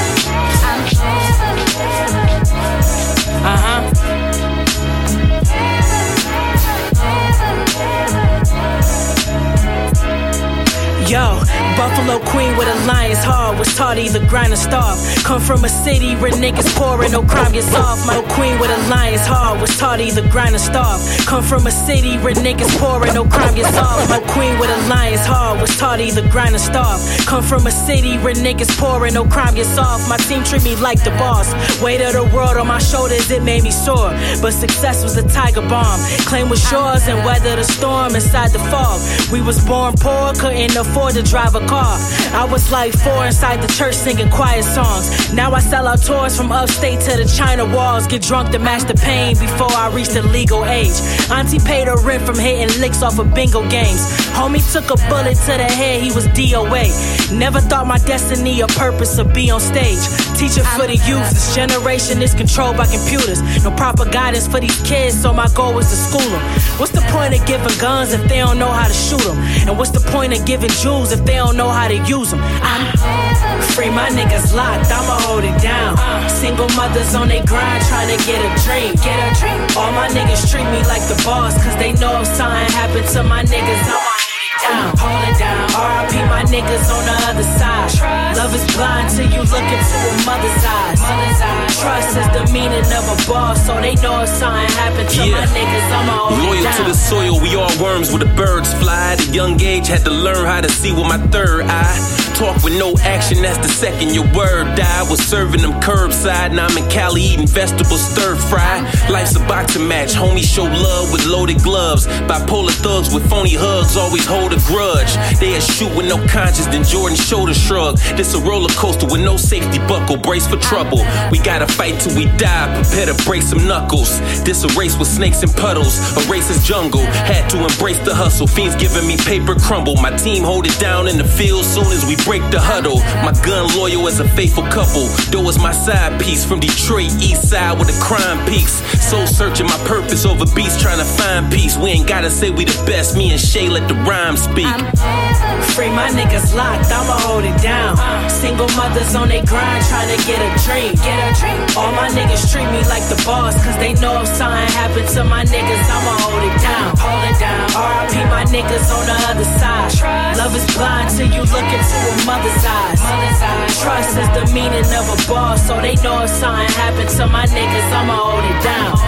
Yo, Buffalo Queen with a lion's heart, was taught either grind or starve. Come from a city where niggas poor and no crime gets off. My queen with a lion's heart, was taught either grind or starve. Come from a city where niggas poor and no crime gets off. My queen with a lion's heart, was taught either grind or starve. Come from a city where niggas poor and no crime gets off. My team treat me like the boss. Weight of the world on my shoulders, it made me sore. But success was a tiger bomb. Claim was yours and weather the storm inside the fog. We was born poor, couldn't afford to drive a car. I was like 4 inside the church singing quiet songs. Now I sell out tours from upstate to the China walls. Get drunk to match the pain before I reach the legal age. Auntie paid her rent from hitting licks off of bingo games. Homie took a bullet to the head, he was DOA. Never thought my destiny or purpose would be on stage. Teaching for the youth, this generation is controlled by computers. No proper guidance for these kids, so my goal was to school them. What's the point of giving guns if they don't know how to shoot them? And what's the point of giving jewels if they don't know how to use them? I'm free, my niggas locked, I'ma hold it down. Single mothers on they grind trying to get a dream. All my niggas treat me like the boss, cause they know if something happened to my niggas, I'ma hold it down. R.I.P. my niggas on the other side. Love is blind till you look into a mother's eyes. Trust is the meaning of a boss, so they know if something happened to my niggas, I'ma hold it down. Loyal to the soil, we all worms where the birds fly. At a young age, had to learn how to see with my third eye. Talk with no action, that's the second your word die. Was serving them curbside, now I'm in Cali eating vegetables stir fry. Life's a boxing match, homies show love with loaded gloves. Bipolar thugs with phony hugs always hold a grudge. They'll shoot with no conscience, then Jordan shoulder shrug. This a roller coaster with no safety buckle, brace for trouble. We gotta fight till we die, prepare to break some knuckles. This a race with snakes and puddles, a racist jungle. Had to embrace the hustle, fiends giving me paper crumble. My team hold it down in the field soon as we break the huddle. My gun loyal as a faithful couple. Though is my side piece from Detroit, east side where the crime peaks. Soul searching my purpose over beats, trying to find peace. We ain't gotta say we the best, me and Shay let the rhyme speak. Free, my niggas locked, I'ma hold it down. Single mothers on they grind trying to get a dream. All my niggas treat me like the boss, cause they know if something happened to my niggas, I'ma hold it down. R.I.P. my niggas on the other side. Love is blind till you look into a mother's eyes. Trust is the meaning of a boss, so they know if something happened to my niggas, I'ma hold it down.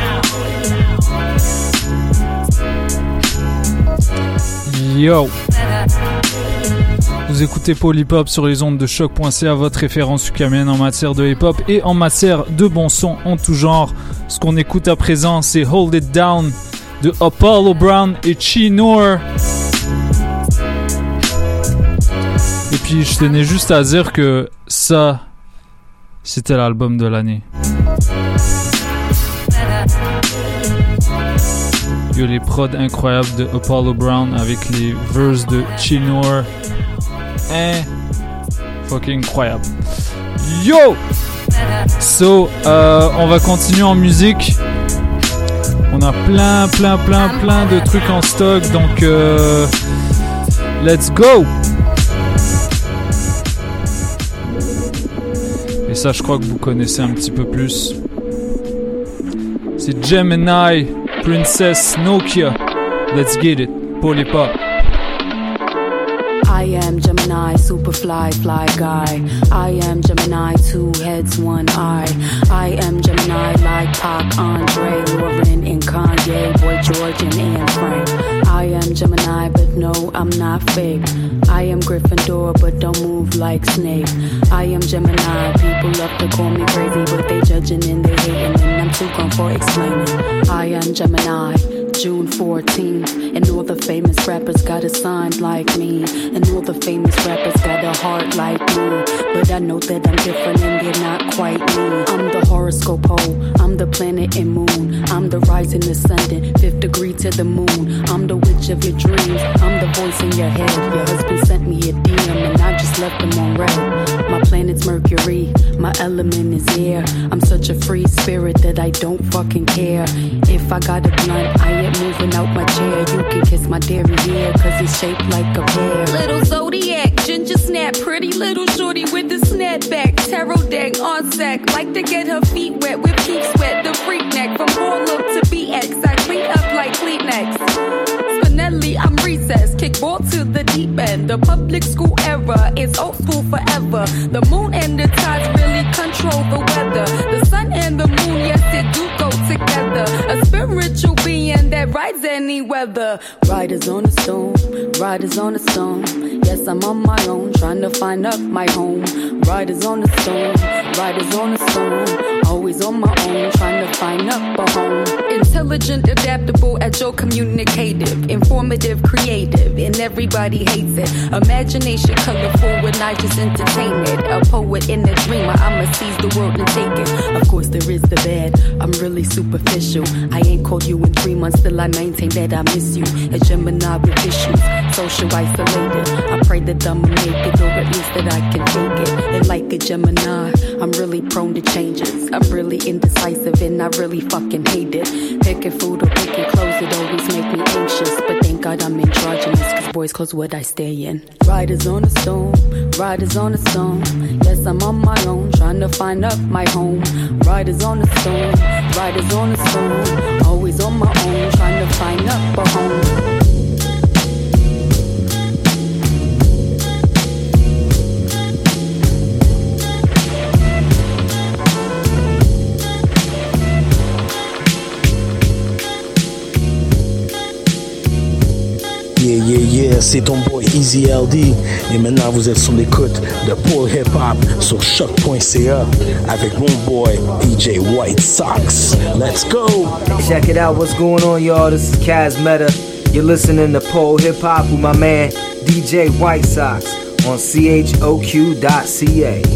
Yo, vous écoutez Paul Hip Hop sur les ondes de choc.ca, votre référence ukamienne en matière de hip hop et en matière de bon son en tout genre. Ce qu'on écoute à présent, c'est Hold It Down de Apollo Brown et Chi Noor. Et puis je tenais juste à dire que ça, c'était l'album de l'année. Il y a les prods incroyables de Apollo Brown avec les verses de Chi Noor. Fucking incroyable. Yo! So, on va continuer en musique. On a plein de trucs en stock. Donc, let's go! Et ça, je crois que vous connaissez un petit peu plus. C'est Gemini, Princess Nokia. Let's get it. Paul Hip Hop. I am Gemini, super fly guy. I am Gemini, 2 heads, 1 eye. I am Gemini, like Pac, Andre, Lauren, and Kanye, Boy George, and Anne Frank. I I'm not fake. I am Gryffindor, but don't move like Snape. I am Gemini, people love to call me crazy, but they judging and they hating, and I'm too gone for explaining. I am Gemini, June 14th, and all the famous rappers got a sign like me, and all the famous rappers got a heart like me, but I know that I'm different and they're not quite me. I'm the horoscope hole, I'm the planet and moon, I'm the rising ascendant, 5th degree to the moon, I'm the witch of your dreams, I'm the voice in your head. Your husband sent me a DM and I just left him on red. My planet's Mercury, my element is air. I'm such a free spirit that I don't fucking care. If I got a blunt, I ain't moving out my chair. You can kiss my dairy hair, cause it's shaped like a pear. Little zodiac, ginger snap, pretty little shorty with the snapback. Tarot deck on sack, like to get her feet wet with peak sweat. The freak neck from Harlem to BX, I clean up like Kleenex. Spinelli, I'm recessed, kickball to the deep end. The public school era, it's old school forever. The moon and the tides really control the weather. The sun and the moon, yes, it do go together. A spiritual being that rides any weather. Riders on a stone, riders on a stone. Yes, I'm on my own, trying to find up my home. Riders on a stone, riders on a stone. Always on my own, trying to find up a home. Intelligent, adaptable, agile, communicative, informative, creative, and everybody hates it. Imagination colorful when I just entertain it. A poet and a dreamer, I'ma seize the world and take it. Of course there is the bad, I'm really superficial. I ain't called you in 3 months, still I maintain that I miss you. A Gemini with issues, social isolated. I pray that I'ma make it, or at least that I can take it. And like a Gemini, I'm really prone to changes. I'm really indecisive and I really fucking hate it. Picking food or picking clothes, it always make me anxious. But thank God I'm androgynous, cause boys clothes what I stay in. Riders on a stone, riders on a stone. Yes, I'm on my own, trying to find up my home. Riders on a stone, riders on a stone. Always on my own, trying to find up a home. Yeah, c'est ton boy Easy LD. Et maintenant vous êtes sur l'écoute de Paul Hip Hop sur choc.ca avec mon boy DJ White Sox. Let's go! Check it out, what's going on, y'all? This is Kaz Meta. You're listening to Paul Hip Hop with my man DJ White Sox on CHOQ.ca.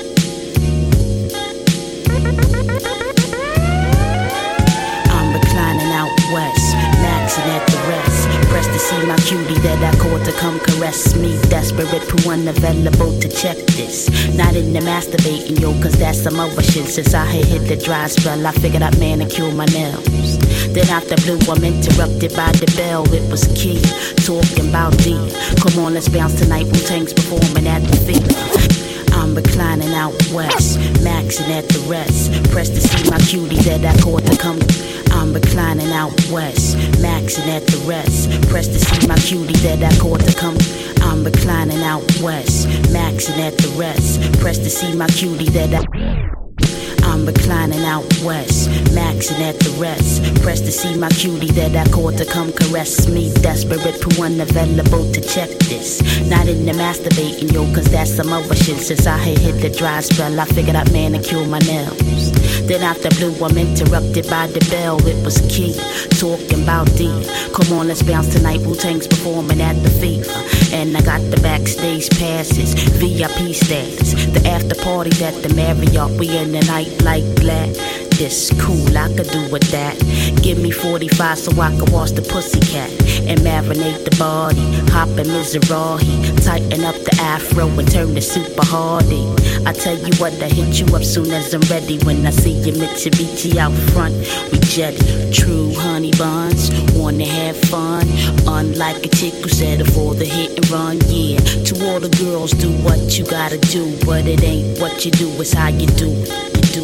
See my cutie that I called to come caress me. Desperate, who unavailable to check this. Not in the masturbating, yo, cause that's some other shit. Since I had hit the dry spell, I figured I'd manicure my nails. Then out the blue, I'm interrupted by the bell. It was Key, talking about D. Come on, let's bounce tonight. Wu-Tang's performing at the fever. I'm reclining out west, maxing at the rest. Press to see my cutie that I called to come. I'm reclining out west, maxing at the rest. Press to see my cutie that I called to come. I'm reclining out west, maxing at the rest. Press to see my cutie that I. I'm reclining out west, maxing at the rest. Press to see my cutie that I called to come caress me. Desperate, who unavailable to check this. Not in the masturbating, yo, cause that's some other shit. Since I had hit the dry spell, I figured I'd manicure my nails. Then out the blue, I'm interrupted by the bell. It was Key, talking about D. Come on, let's bounce tonight. Wu-Tang's performing at the fever. And I got the backstage passes, VIP status. The after party at the Marriott, we in the night like black. This cool, I could do with that. Give me 45 so I can wash the pussycat and marinate the body. Hop in Mizrahi, tighten up the afro and turn the super hardy. I tell you what, I hit you up soon as I'm ready. When I see your Mitsubishi out front, we jetty. True honey buns, wanna have fun. Unlike a chick who settle for the hit and run, yeah. To all the girls, do what you gotta do, but it ain't what you do, it's how you do it. You do it.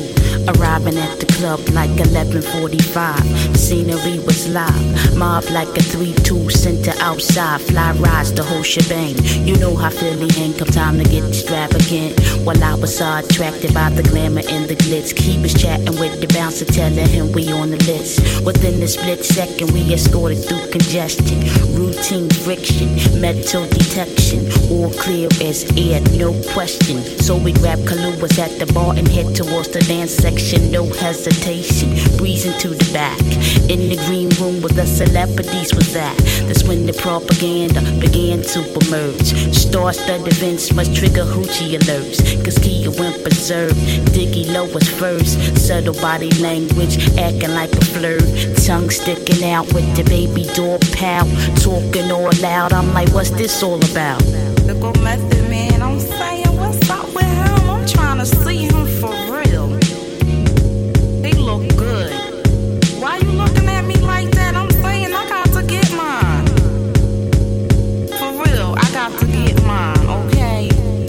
Arriving at the club like 11:45. Scenery was live. Mob like a 3-2 center outside. Fly rides the whole shebang. You know how Philly hang. Come time to get extravagant. While I was so attracted by the glamour and the glitz. He was chatting with the bouncer, telling him we on the list. Within a split second, we escorted through congestion. Routine friction, metal detection. All clear as air, no question. So we grabbed Kaluas at the bar and head towards the dance section. No hesitation, breezing to the back. In the green room where the celebrities was at. That's when the propaganda began to emerge. Star-studded events must trigger hoochie alerts. Cause Kia went berserk. Diggy Low was first. Subtle body language, acting like a flirt. Tongue sticking out with the baby door pal. Talking all loud, I'm like, what's this all about? Look what Method Man, I'm saying, what's up with him? I'm trying to see him for real. They look good. Why you looking at me like that? I'm saying I got to get mine. For real, I got to get mine, okay?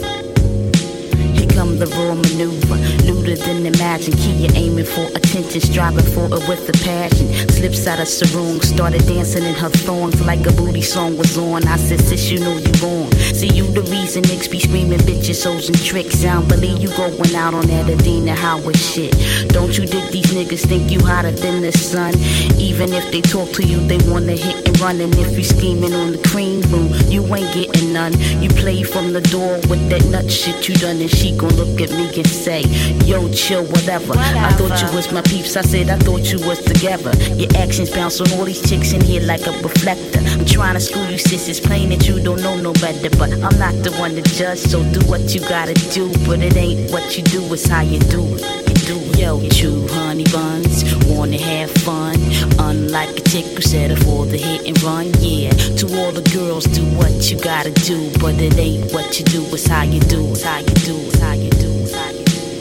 Here come the raw maneuver. Looter than imagine. Kia aiming for attention, striving for it with a passion. Slips out of sarong, started dancing in her thongs like a booty song was on. I said, sis, you know you wrong. See, you the reason niggas be screaming bitches, hoes and tricks. I don't believe you going out on that Adina Howard shit. Don't you dig these niggas think you hotter than the sun? Even if they talk to you, they wanna hit and run. And if you scheming on the cream room, you ain't getting none. You play from the door with that nut shit you done. And she gon' look at me and say, yo, chill, whatever. I thought you was my peeps, I said I thought you was together. Your actions bounce on all these chicks in here like a reflector. I'm trying to school you, sis, it's plain that you don't know no better. But I'm not the one to judge, so do what you gotta do. But it ain't what you do, it's how you do it. Yo, chew honey buns, wanna have fun. Unlike a chick who set up for the hit and run, yeah. To all the girls, do what you gotta do. But it ain't what you do, it's how you do. It's how you do, it's how you do, it's how you do.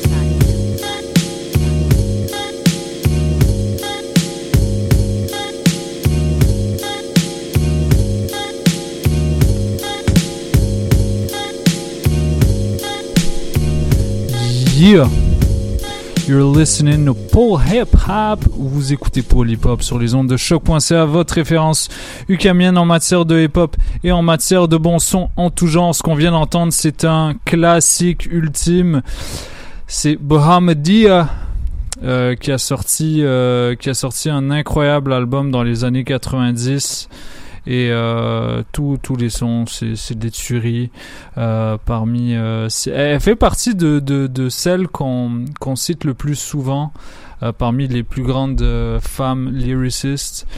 Yeah, you're listening to Paul Hip Hop. Vous écoutez Paul Hip Hop sur les ondes de choc.ca, votre référence ukamienne en matière de hip hop et en matière de bon son en tout genre. Ce qu'on vient d'entendre, c'est un classique ultime. C'est Bahamadia qui a sorti un incroyable album dans les années 90. Et tous les sons, c'est des tueries. Elle fait partie de celles qu'on cite le plus souvent parmi les plus grandes femmes lyricistes.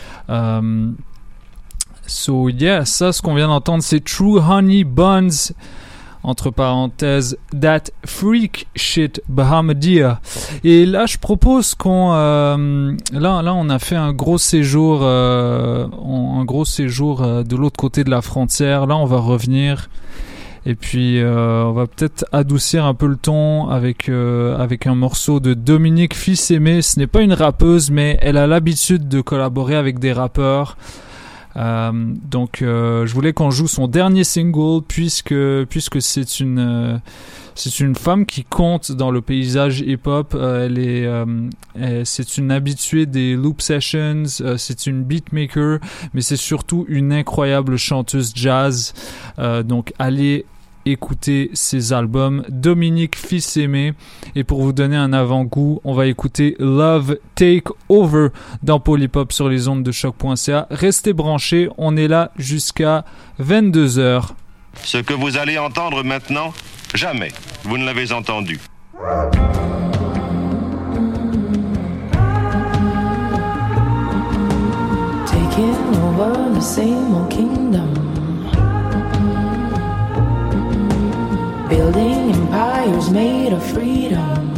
So yeah, ça, ce qu'on vient d'entendre, c'est True Honey Buns. Entre parenthèses, That Freak Shit Bahamadia. Et là, je propose qu'on là on a fait un gros séjour de l'autre côté de la frontière. Là, on va revenir et puis on va peut-être adoucir un peu le ton avec un morceau de Dominique Fils-Aimé. Ce n'est pas une rappeuse, mais elle a l'habitude de collaborer avec des rappeurs. Donc je voulais qu'on joue son dernier single puisque c'est une femme qui compte dans le paysage hip-hop. C'est une habituée des loop sessions, c'est une beatmaker, mais c'est surtout une incroyable chanteuse jazz. Donc allez écouter ses albums, Dominique Fils-Aimé. Et pour vous donner un avant-goût, on va écouter Love Take Over dans Paul Hip Hop sur les ondes de choc.ca. Restez branchés, on est là jusqu'à 22h. Ce que vous allez entendre maintenant, jamais vous ne l'avez entendu. Taking over the same old kingdom, building empires made of freedom,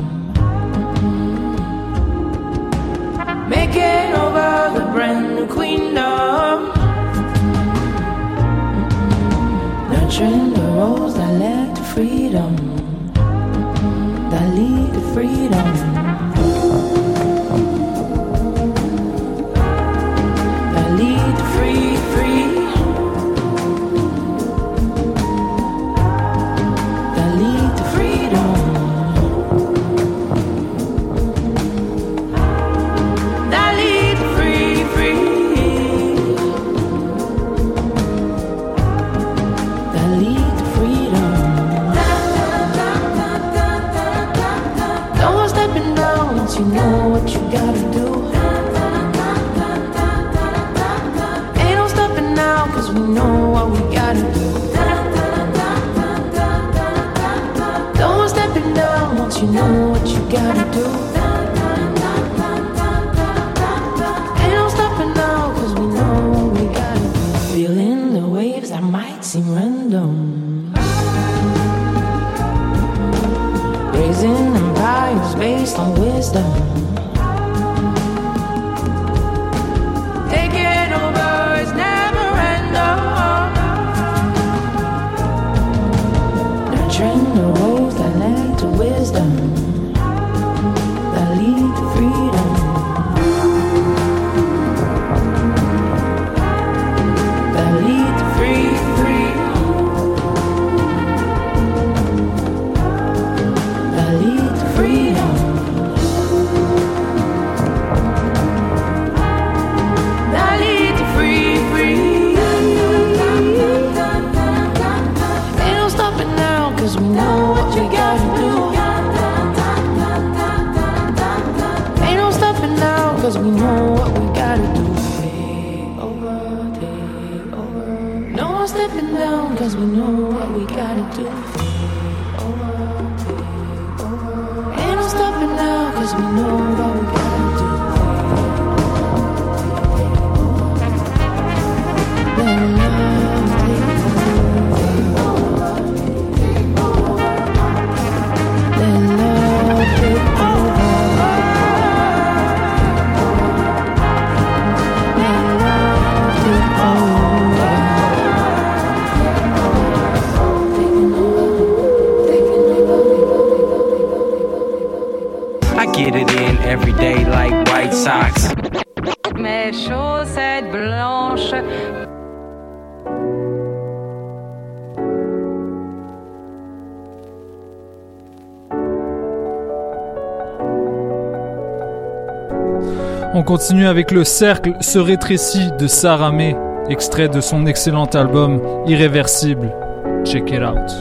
making over the brand new queendom, nurturing the roads that led to freedom, that lead to freedom, that lead to free. gotta do. Don't step it down once you know what you gotta do. Ain't no stopping now, cause we know what we gotta do. Feeling the waves that might seem random, raising empires based on wisdom. Taking over is never enough. Nurturing the roads that lead to wisdom, that lead to freedom, that lead to free. That lead to freedom. That lead to free. Ain't no stopping now, cause we know what we gotta do. Ain't no stopping now, cause we know what we gotta do. Take over. No one stepping down, cause we know what we gotta do. Ain't no stopping now, cause we know what we gotta do. Let love take over. Let love take over. Let love take over. I get it in every day like White Sox. Mes chaussettes blanches. On continue avec Le Cercle se rétrécit de Sarah May, extrait de son excellent album Irréversible. Check it out.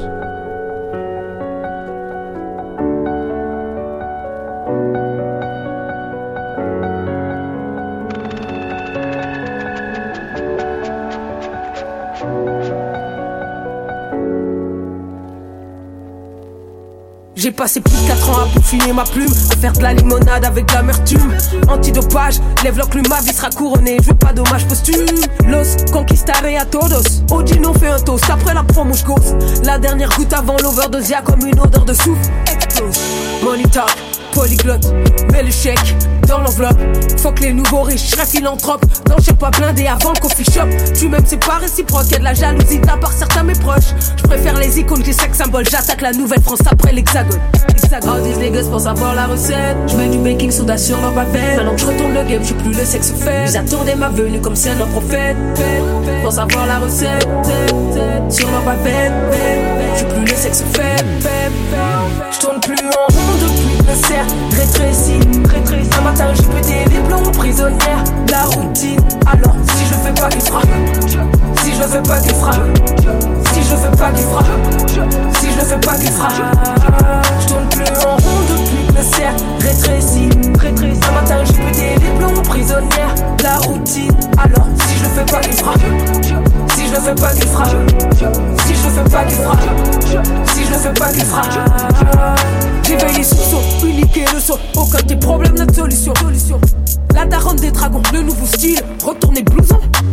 J'ai passé plus de 4 ans à peaufiner ma plume, à faire de la limonade avec de l'amertume. Antidopage, lève l'enclume, ma vie sera couronnée, je veux pas d'hommage posthume. Los conquistaré a todos, Odin on fait un toast après la promo j'gose. La dernière goutte avant l'overdose, y'a comme une odeur de souffle. Explose, money talk, polyglotte, mets le chèque dans l'enveloppe. Fuck les nouveaux riches, j'serais philanthrope. Non j'sais pas blindé avant le coffee shop. Tu m'aimes c'est pas réciproque, y'a de la jalousie de la part certains mes proches. J'préfère les icônes, les sex symboles. J'attaque la nouvelle France après l'hexagone. All these niggas pensent avoir la recette. J'mets du baking soda sur leur bavette. Maintenant que j'retourne le game, j'suis plus le sexe fait. Ils attendaient ma venue comme c'est un prophète. Pensent avoir la recette sur leur bavette. J'suis plus le sexe fait. J'tourne plus en rond depuis que le cercle rétrécit. Un matin j'ai pété les plombs prisonnières. La routine, alors si je fais pas qu'il frappe. Si je fais pas qu'il frappe. Si je fais pas qu'il frappe. Si je fais pas qu'il frappe. J'tourne plus en rond depuis que le cercle rétrécit. Un matin j'ai pété les plombs prisonnières. La routine, alors si je fais pas qu'il frappe. Si je fais pas qu'il frappe. Si je fais pas qu'il frappe. Si je fais pas qu'il frappe. J'éveille les soupçons, uniquer le son. Aucun des problèmes, notre solution. La daronne des dragons, le nouveau style. Retourner blouson.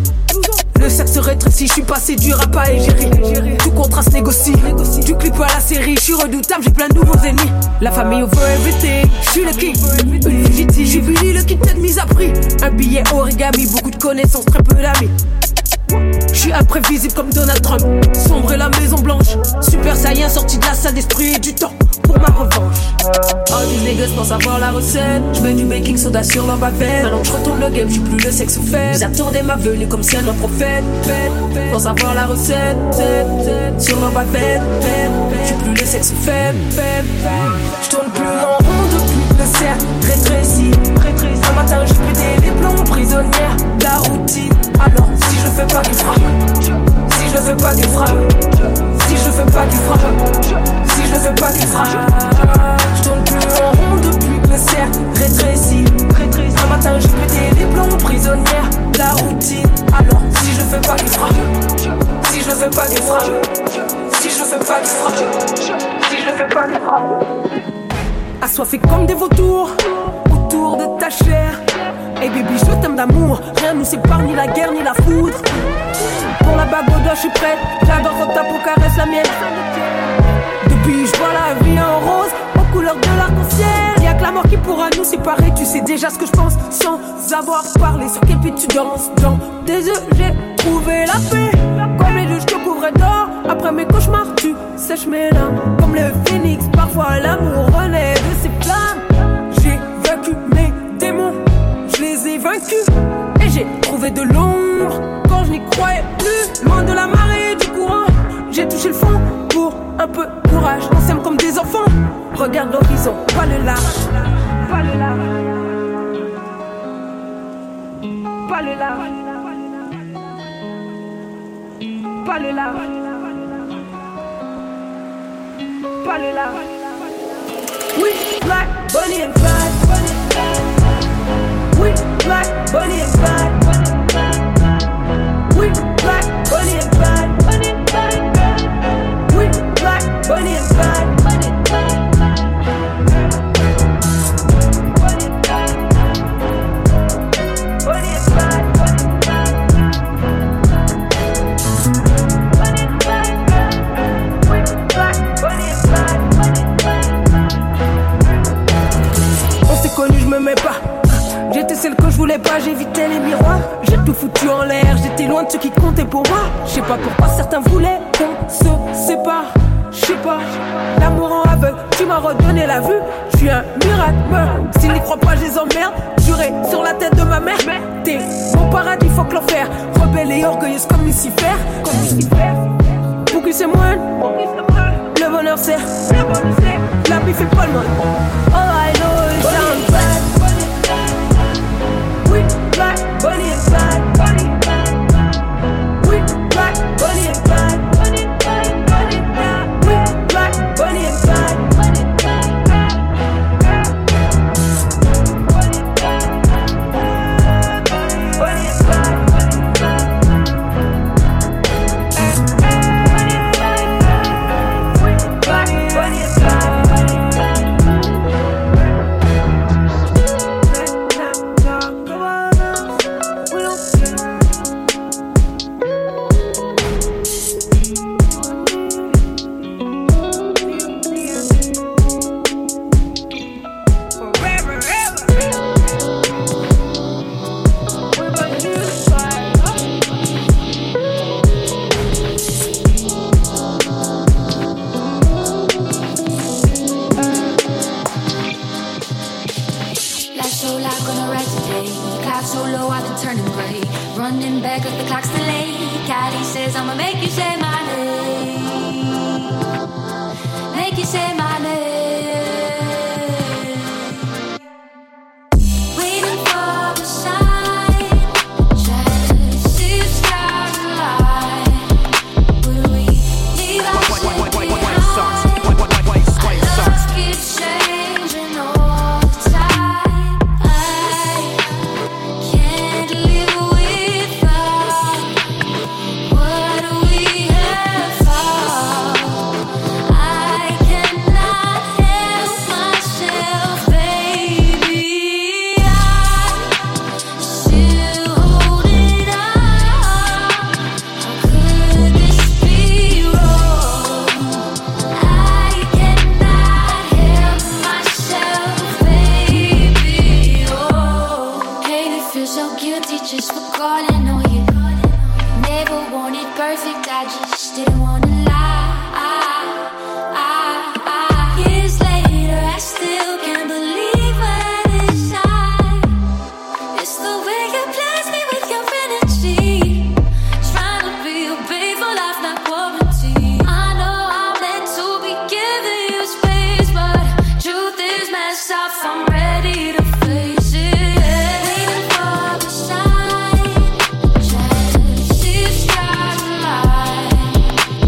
Le sexe rétrécit, je suis passé du rap à égérie. Tout contraste négocie. Du clip à la série, je suis redoutable, j'ai plein de nouveaux ennemis. La famille over everything, je suis le king. Une fugitine, j'ai fini le kit de mise à prix. Un billet origami, beaucoup de connaissances, très peu d'amis. Je suis imprévisible comme Donald Trump. Sombre et la Maison Blanche. Super Saiyan sorti de la salle d'esprit et du temps pour ma revanche. All these niggas pensent avoir la recette. J'mets du baking soda sur leur bavette. Maintenant que j'retourne le game, j'suis plus le sexe fait. Ils attendaient ma venue comme si un prophète. Pensent avoir la recette sur leur bavette. J'suis plus le sexe fait. J'tourne plus en rond depuis que le cercle rétrécit. Un matin j'ai pété les plombs prisonnières. La routine, alors si je fais pas qu'il frappe. Si je fais pas qu'il frappe. Si je fais pas qu'il frappe. Si je fais pas qu'il frappe. J'tourne plus en rond depuis que le cercle rétrécit. Un matin j'ai pété les plombs prisonnières. La routine, alors si je fais pas qu'il frappe. Si je fais pas qu'il frappe. Si je fais pas, qui frappe. Si je fais pas, qui frappe. Assoiffés comme des vautours autour de ta chair. Hey baby, je t'aime d'amour. Rien nous sépare, ni la guerre, ni la foudre. Pour la bague au doigt, je suis prête. J'adore quand ta peau caresse la mienne. Depuis, je vois la vie en rose, aux couleurs de l'arc-en-ciel. Y'a que la mort qui pourra nous séparer. Tu sais déjà ce que je pense, sans avoir parlé. Sur quel pied tu danses, dans tes yeux, j'ai trouvé la paix. Comme les deux, je te couvrais d'or. Après mes cauchemars, tu sèches mes larmes. Comme le phénix, parfois l'amour renaît de ses flammes. J'ai vaincu mes démons, je les ai vaincus. Et j'ai trouvé de l'ombre quand je n'y croyais plus. Loin de la marée, du courant, j'ai touché le fond. Pour un peu de courage, on s'aime comme des enfants. Regarde l'horizon, pas le large. Pas le large. Pas le large. Pas le large. Pas le large. We black, Bonnie and Clyde. We black, Bonnie and Clyde. We black, Bonnie and Clyde. We black, Bonnie and Clyde. J'étais celle que je voulais pas, j'évitais les miroirs. J'ai tout foutu en l'air, j'étais loin de ce qui comptait pour moi. Je sais pas pourquoi certains voulaient qu'on se sépare. Je sais pas, l'amour en aveugle, tu m'as redonné la vue. Je suis un miracle, s'ils n'y croient pas, je les emmerde. Juré sur la tête de ma mère. T'es mon paradis, faut que l'enfer. Rebelle et orgueilleuse comme Lucifer. Pour qui c'est moins, le bonheur c'est. La vie fait pas le monde. All I know is I'm bad. We black, Bonnie and Clyde. We black, Bonnie and Clyde. We black, Bonnie and Clyde. Bonnie and Clyde. We black, Bonnie and Clyde. Running back cause the clock's delayed. Caddy says I'ma make you say my name. Make you say my name. Waiting for the sign. Just see the stars align. Will we leave our shit behind? Love keeps changing all the time. I can't live without what we have found. I cannot help myself, baby. I'm still holding on. How could this be wrong? I cannot help myself, baby. Oh, hate it, feel so guilty just for calling on you. Never wanted perfect, I just didn't wanna lie. Years later, I still can't believe what inside. It's the way you bless me with your energy. Trying to be a babe for life, not quarantine. I know I'm meant to be giving you space, but truth is messed up. I'm ready to face it. Waiting for the sign. Just see the stars align.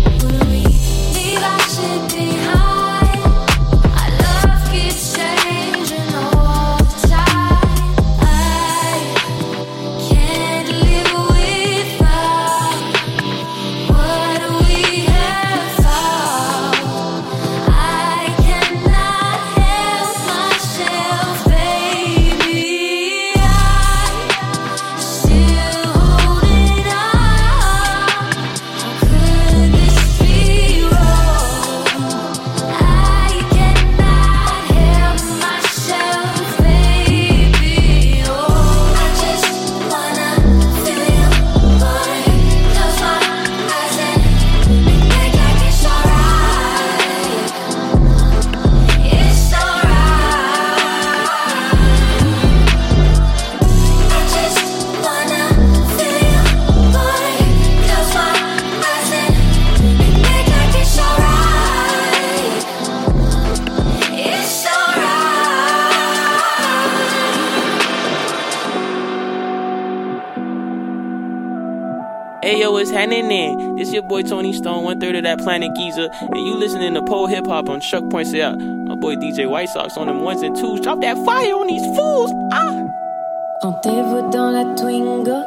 Ayo, what's happening? This your boy Tony Stone, 1/3 of that Planet Giza, and you listening to Pole Hip Hop on Chuck.ca. My boy DJ White Sox on them 1s and 2s. Drop that fire on these fools. Rendez-vous dans la Twingo.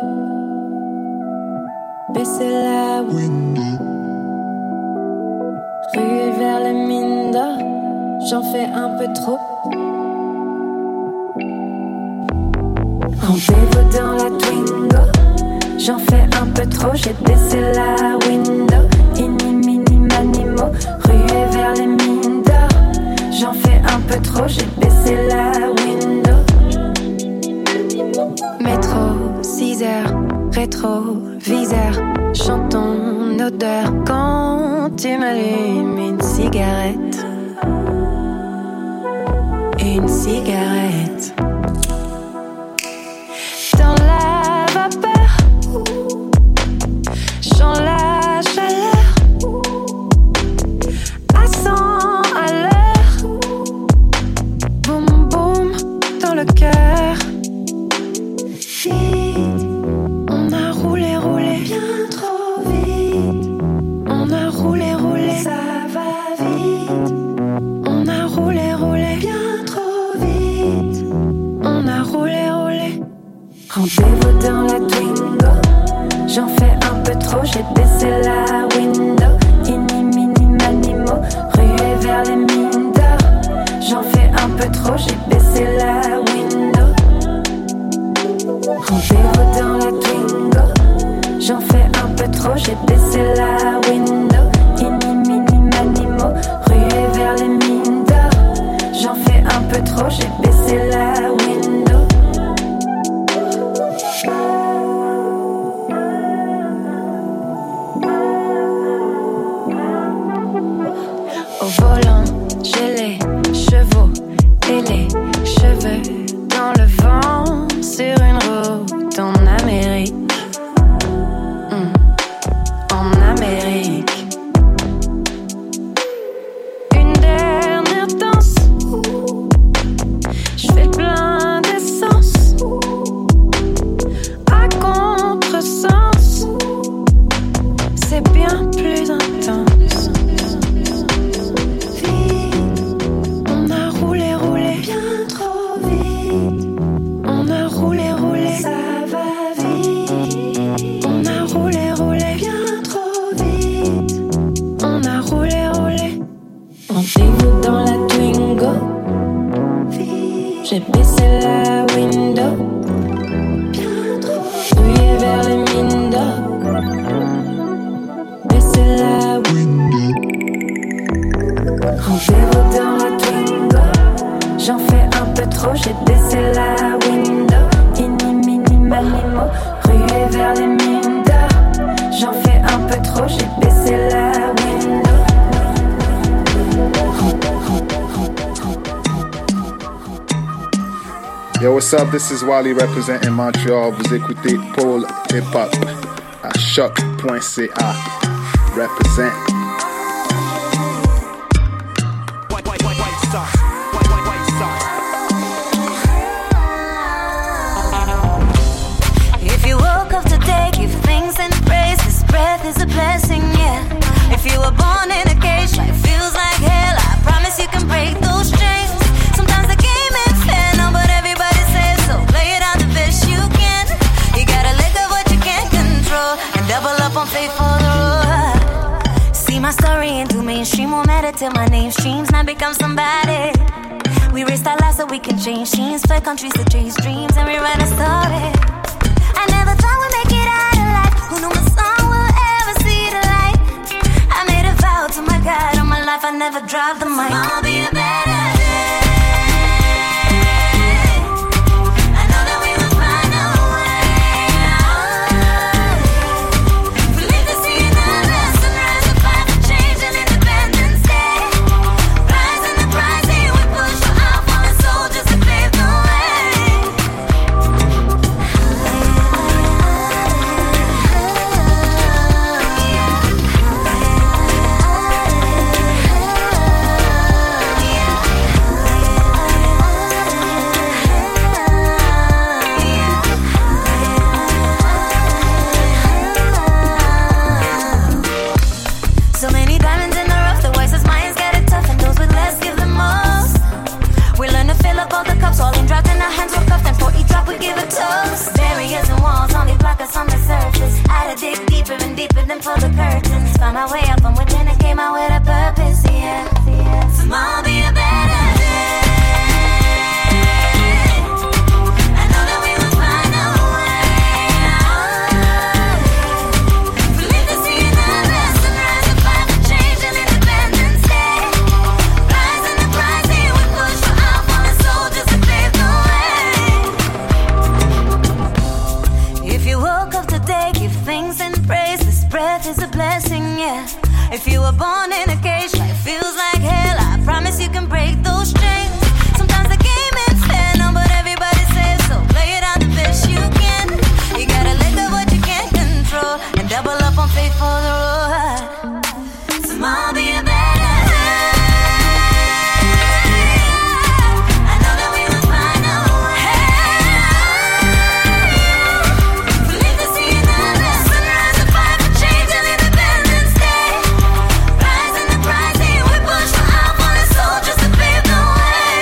Baissez la window. Ruée vers les mines d'or. J'en fais un peu trop. Rendez-vous dans la Twingo. J'en fais un peu trop, j'ai baissé la window. Inni, mini, manimo, ruée vers les mines d'or. J'en fais un peu trop, j'ai baissé la window. Métro, 6 heures, rétro, viseur. Chantons odeur quand tu m'allumes une cigarette. Une cigarette. Dans la vapeur, j'en la chaleur, à 100 à l'heure, boum boum dans le cœur. Vite, on a roulé, roulé, bien trop vite. On a roulé, roulé, ça va vite. On a roulé, roulé, bien trop vite. On a roulé, roulé. Rendez-vous dans la Twingo. J'en fais un peu trop, j'ai baissé la window. Inni, mini, manimo, ruée vers les mines d'or. J'en fais un peu trop, j'ai baissé la window. Rendez-vous dans la Twingo. J'en fais un peu trop, j'ai baissé la window. Inni, mini, manimo, ruée vers les mines d'or. J'en fais un peu trop, j'ai baissé la window. Au volant, j'ai les chevaux et les cheveux dans le vent sur une route en Amérique. En Amérique. Une dernière danse. Je fais le plein d'essence. À contresens. C'est bien plus intense. On a roulé, roulé, bien trop vite. On a roulé, roulé, ça va vite. On a roulé, roulé, bien trop vite. On a roulé, roulé. Rendez-vous dans la Twingo. J'ai baissé la window. Bien trop. Ruée vers les mines d'or. Baissé la window. Rendez-vous dans la Twingo. J'en fais un peu trop, j'ai baissé la window. Inni, mini, manimo, ruée vers les mines d'or. J'en fais un peu trop, j'ai baissé la window. Yo, what's up? This is Wally representing Montreal. Vous écoutez Pole Hip Hop à Choc.ca. Represent. If you woke up today, give thanks and praise. This breath is a blessing, yeah. If you were born in a cage, life feels like hell. I promise you can break those chains. Sometimes the game ain't fair, no, but everybody says so. Play it out the best you can. You gotta let go what you can't control and double up on faith for the road. See my story into mainstream, won't matter till my name streams. Now become somebody. We risked our lives so we can change scenes. Fair countries to chase dreams and rewrite a story. I never thought we'd make it out alive. Who knew my song will ever see the light? I made a vow to my God all my life I never drop the mic. I'll be a better day. I know that we will find a way. We live to see another lesson. Rise to fight for change and Independence Day. Rise in the rising, we push for our fallen soldiers to pave the way. my way up from within and came out with a purpose, yeah. Tomorrow be a better day. I know that we will find a way. We live to see another sunrise and fight for change and Independence Day. Rise in the rising, we push for our fallen soldiers to pave the way. If you woke up today, give thanks and praise. This breath is a blessing, yeah. If you were born in a cage, life feels like hell. I promise you can break those chains. Sometimes the game is fair, no, but everybody says so. Play it out the best you can. You gotta let go what you can't control and double up on faith for the road. Tomorrow be a better day. I know that we will find a way. We live to see another sunrise and fight for change and Independence Day. Rise in the rising, we push for our fallen soldiers to pave the way.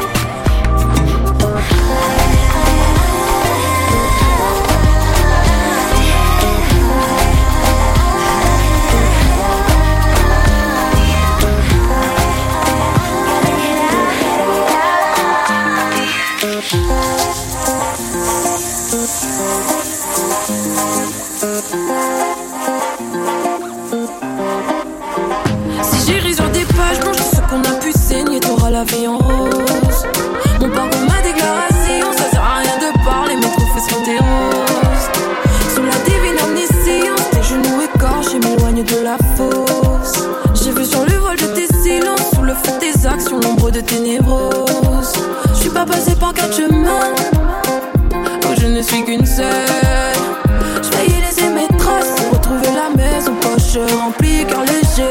Si j'irai sur des pages blanches, ce qu'on a pu saigner, t'auras la vie en rose. Mon parcours, ma déclaration, ça sert à rien de parler, mes trophées seront tes roses. Sous la divine omniscience, tes genoux écorchés m'éloignent de la fosse. J'ai vu sur le vol de tes silences, sous le feu de tes actions, l'ombre de tes névroses. Je suis pas passé par 4 chemins, oh je ne suis qu'une seule. Je vais y laisser mes traces pour retrouver la maison, poche remplie, cœur léger.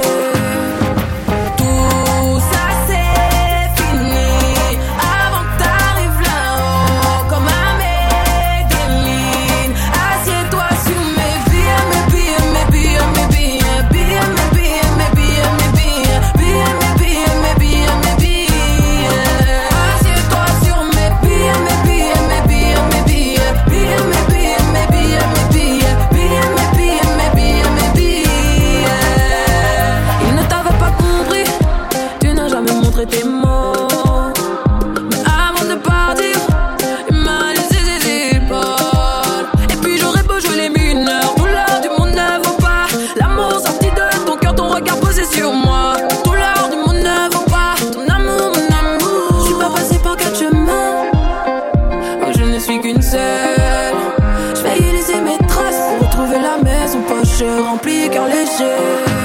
Tout ça c'est fini avant que t'arrives là-haut comme un Medellin. Assieds-toi sur mes billets, mes billets, mes billets, mes billets, billets, mes billets, mes billets, mes billets, billets, mes billets, mes billets, mes billets. Assieds-toi sur mes billets, mes billets, mes billets, mes billets, billets, mes billets, mes billets, mes billets, billets, mes billets, mes billets, mes billets. Il ne t'avait pas compris, tu n'as jamais montré tes mots. Mais avant de partir, il m'a laissé ses épaules. Et puis j'aurais beau jouer les mineurs, tout l'art du monde ne vaut pas l'amour sorti de ton cœur, ton regard posé sur moi. Tout l'art du monde ne vaut pas ton amour, mon amour. Je suis pas passé par 4 chemins, oh je ne suis qu'une seule. Je vais y laisser mes traces pour retrouver la maison, poche remplie, cœur léger.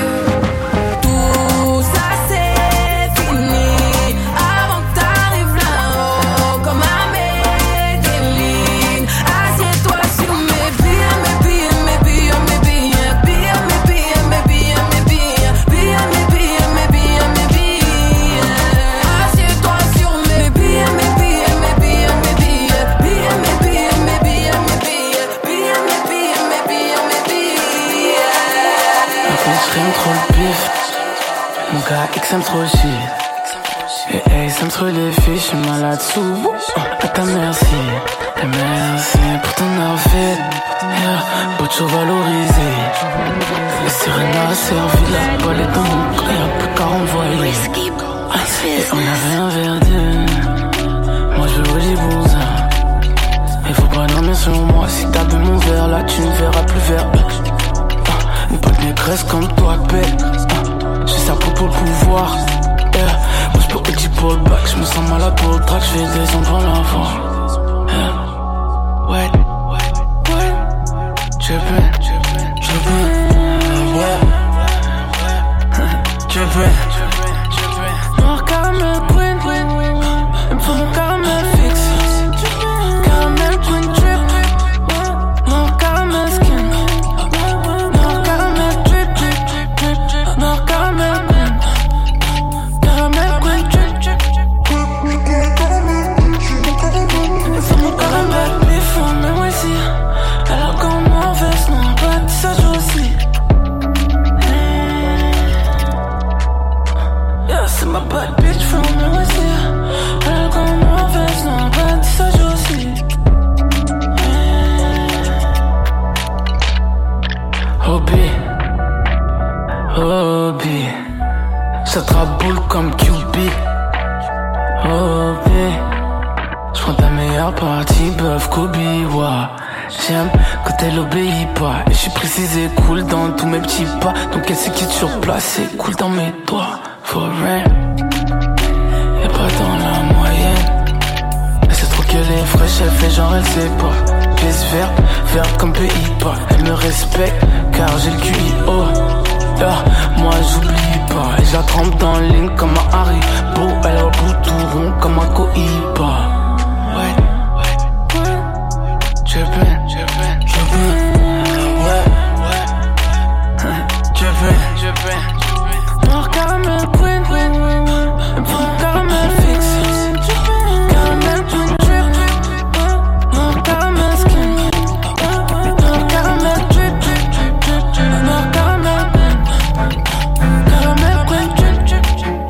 Tout ça c'est fini avant que t'arrives là-haut comme un Medellin. Assieds-toi sur mes billets, mes billets, mes billets, mes billets, billets, mes billets, mes billets, mes billets, billets, mes billets, mes billets, mes billets. Assieds-toi sur mes billets, mes billets, mes billets, mes billets, billets, mes billets, mes billets, mes billets, billets, mes billets, mes billets, mes billets. Je rime trop le pif. Mon gars X aime trop le shit. Et Ace aime trop les filles. Je suis malade sous. À ta merci. Et merci pour ton outfit. Yeah, Bocho valorisé. Les sirènes a servi. La balle est dans mon cœur. Y'a plus qu'à renvoyer. Et on avait un verdict. Moi je veux les bons. Il faut pas dormir sur moi. Si t'as bu mon verre là, tu ne verras plus vert. Une bonne négresse comme toi, bête. J'ai ça pour le pouvoir. Yeah. Moi j'peux Eddie pour le bac. J'me sens malade pour le track. J'fais descendre l'avant. Yeah. Ouais. Ouais. Je peux. Ouais. Je peux. Noir caramel queen. Il me faut mon caramel fixe. Caramel queen trip. Noir caramel skin. Noir caramel drip drip drip drip. Noir caramel queen. Caramel queen drip drip. Il faut mon caramel bif, mais moi ici. Alors qu'on m'en veste, non, pas de ça joue aussi. Yeah, c'est ma bad bitch from me aussi. Alors qu'on m'en veste, non, pas de ça joue aussi. Hobby, J'attrape boule comme QB. Oh, B. J'prends ta meilleure partie, bœuf Kobe, ouais. J'aime quand elle obéit pas. Et j'suis précis et cool dans tous mes petits pas. Donc elle sait qui est sur place, c'est cool dans mes doigts. For real. Y'a pas dans la moyenne. Elle sait trop qu'elle est fraîche, elle fait genre elle sait pas. Pièce verte comme pays pas. Elle me respecte car j'ai le QIO. Moi j'oublie pas. Et je la trempe dans le ligne comme un Haribo. Elle a le bout tout rond comme un Cohiba. Ouais. Noir caramel queen, caramel fixe, caramel queen drip, noir caramel skin, noir caramel drip, noir caramel queen drip.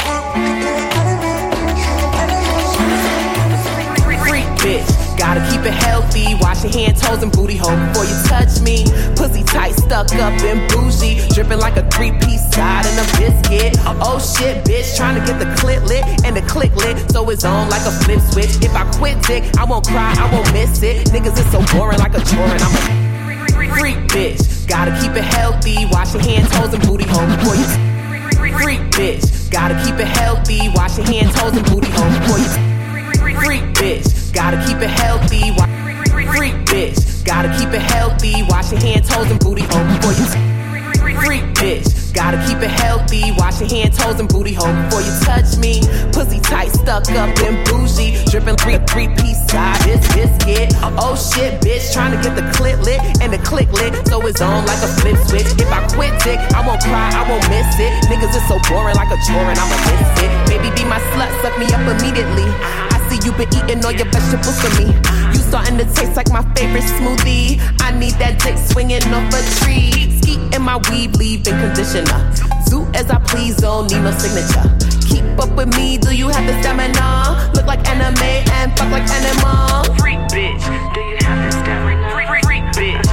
Freak bitch, gotta keep it healthy. Wash your hands, toes, and booty hole before you touch me. Pussy tight, stuck up and bougie, dripping like a 3-piece side and a biscuit. Oh shit, bitch, trying to get the clit lit and the click lit, so it's on like a flip switch. If I quit dick, I won't cry, I won't miss it. Niggas is so boring like a chore, and I'm a freak bitch. Gotta keep it healthy, wash your hands, toes, and booty hole before you. Freak bitch, gotta keep it healthy, wash your hands, toes, and booty hole before you. Freak bitch, gotta keep it healthy. Freak bitch, gotta keep it healthy, wash your hands, toes, and booty hole before you. Freak bitch, gotta keep it healthy, wash your hands, toes, and booty hole before you touch me. Pussy tight, stuck up and bougie, dripping 3-piece side, this biscuit. Oh shit, bitch, trying to get the clit lit and the click lit, so it's on like a flip switch. If I quit dick, I won't cry, I won't miss it. Niggas is so boring like a chore, and I'ma miss it. Baby, be my slut, suck me up immediately. See you been eating all your vegetables for me. You starting to taste like my favorite smoothie. I need that dick swinging off a tree. Ski in my weave, leave-in conditioner. Zoo as I please, don't need no signature. Keep up with me, do you have the stamina? Look like anime and fuck like animal. Freak bitch, do you have the stamina? Freak bitch.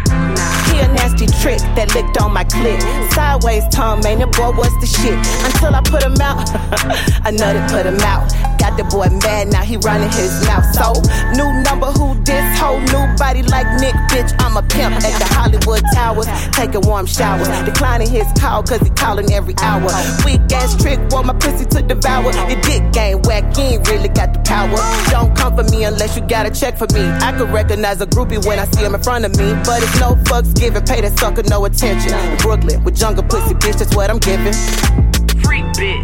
He a nasty trick that licked on my clit. Sideways tongue, man, the boy was the shit. Until I put him out, I nutted, put him out. Got the boy mad, now he running his mouth. So, new number, who this whole new body like Nick, bitch, I'm a pimp at the Hollywood Towers. Take a warm shower, declining his call cause he calling every hour. Weak ass trick, want my pussy to devour. Your dick game whack, you ain't really got the power. Don't come for me unless you got a check for me. I could recognize a groupie when I see him in front of me, but it's no fucks given, pay that sucker no attention. In Brooklyn, with jungle pussy, bitch, that's what I'm giving. Freak bitch.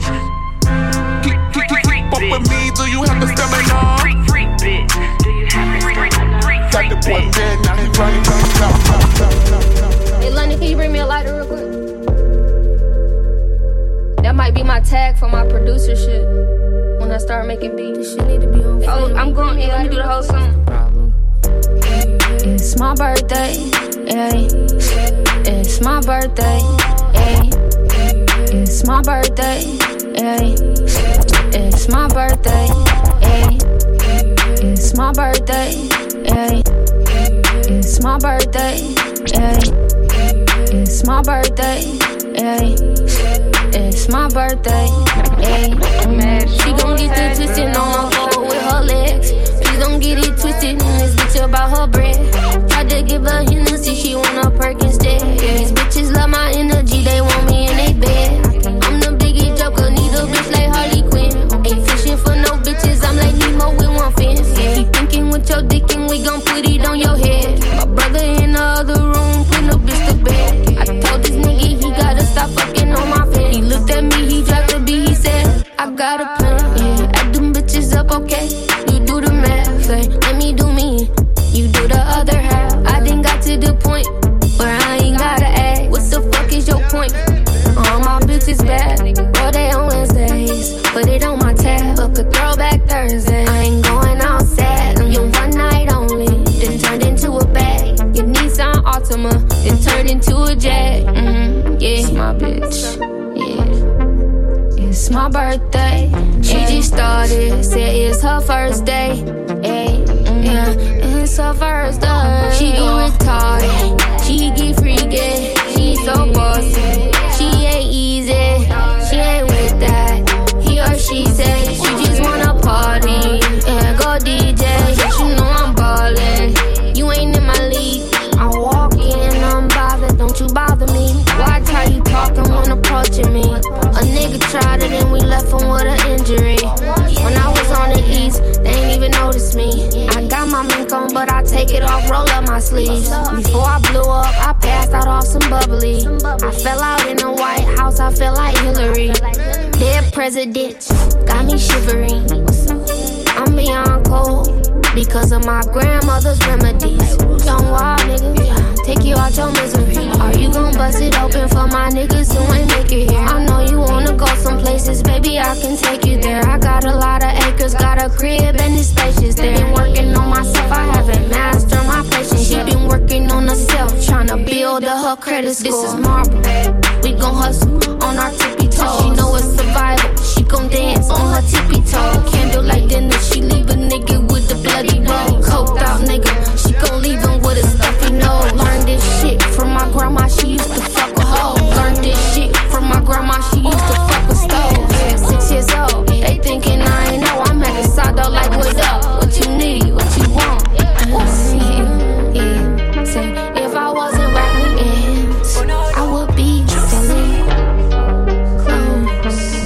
Fuck with me, do you have the stamina? Freak bitch, do you have the stamina? Got the boy dead, now he running. Hey London, can you bring me a lighter real quick? That might be my tag for my producer shit. When I start making beats, this shit need to be on. Oh, I'm going in. Let me do the whole song. It's my birthday, yeah. It's my birthday, yeah. It's my birthday, yeah. It's my birthday, yeah. It's my birthday, yeah. It's my birthday, yeah. It's my birthday, yeah. It's my birthday, yeah. She gon' get the twisted on the floor with her legs. Please don't get it twisted in this bitch about her bread. Tried to give her Hennessy, she want a perk instead. These bitches love my energy, they want me in they bed. I'm the biggie joker, need a bitch like Harley Quinn. Ain't fishing for no bitches, I'm like Nemo with one fence. Keep thinking with your dick and we gon' put it on your head. My brother in the other room, put no bitch to bed. I told this nigga he gotta stop fucking on my face. He looked at me, he dropped the beat, he said, I got a plan, yeah. Add them bitches up, okay? You do the math, like, let me do me. You do the other half. I done got to the point where I ain't gotta ask. What the fuck is your point? All my bitches bad, all they on Wednesdays. Put it on my tab, book a throwback Thursday. I ain't going out sad, I'm your one night only. Then turned into a bag. Your Nissan Altima, then turned into a Jag. Yeah, it's my bitch. Yeah, it's my birthday. She just started, said it's her first day. Yeah, it's her first day. She go retarded, she get freaky. She so bossy, she ain't easy. She ain't with bubbly. I fell out in the White House, I feel like Hillary. Dead presidents got me shivering. I'm beyond cold because of my grandmother's remedies. Young wild nigga, take you out your misery. Are you gon' bust it open for my niggas who ain't make it here? I know you wanna go some places, baby, I can take you there. I got a lot of acres, got a crib and it's spacious there. Been working on myself, I haven't mastered my patience. She been working on herself, tryna build up her credit score. This is marble, we gon' hustle on our tippy toes. She know it's survival, she gon' dance on her tippy toe. Candlelight dinner, she leave a nigga with the bloody roll. Coked out nigga, she gon' leave him with a stuffy nose. Learned this shit from my grandma, she used to fuck with hoes. Learned this shit from my grandma, she used to fuck with stoves. Yeah, 6 years old, they thinking I ain't know. I'm at the side though like what up, what you need, what you want. Yeah. Say if I wasn't rapping, I would be selling clothes.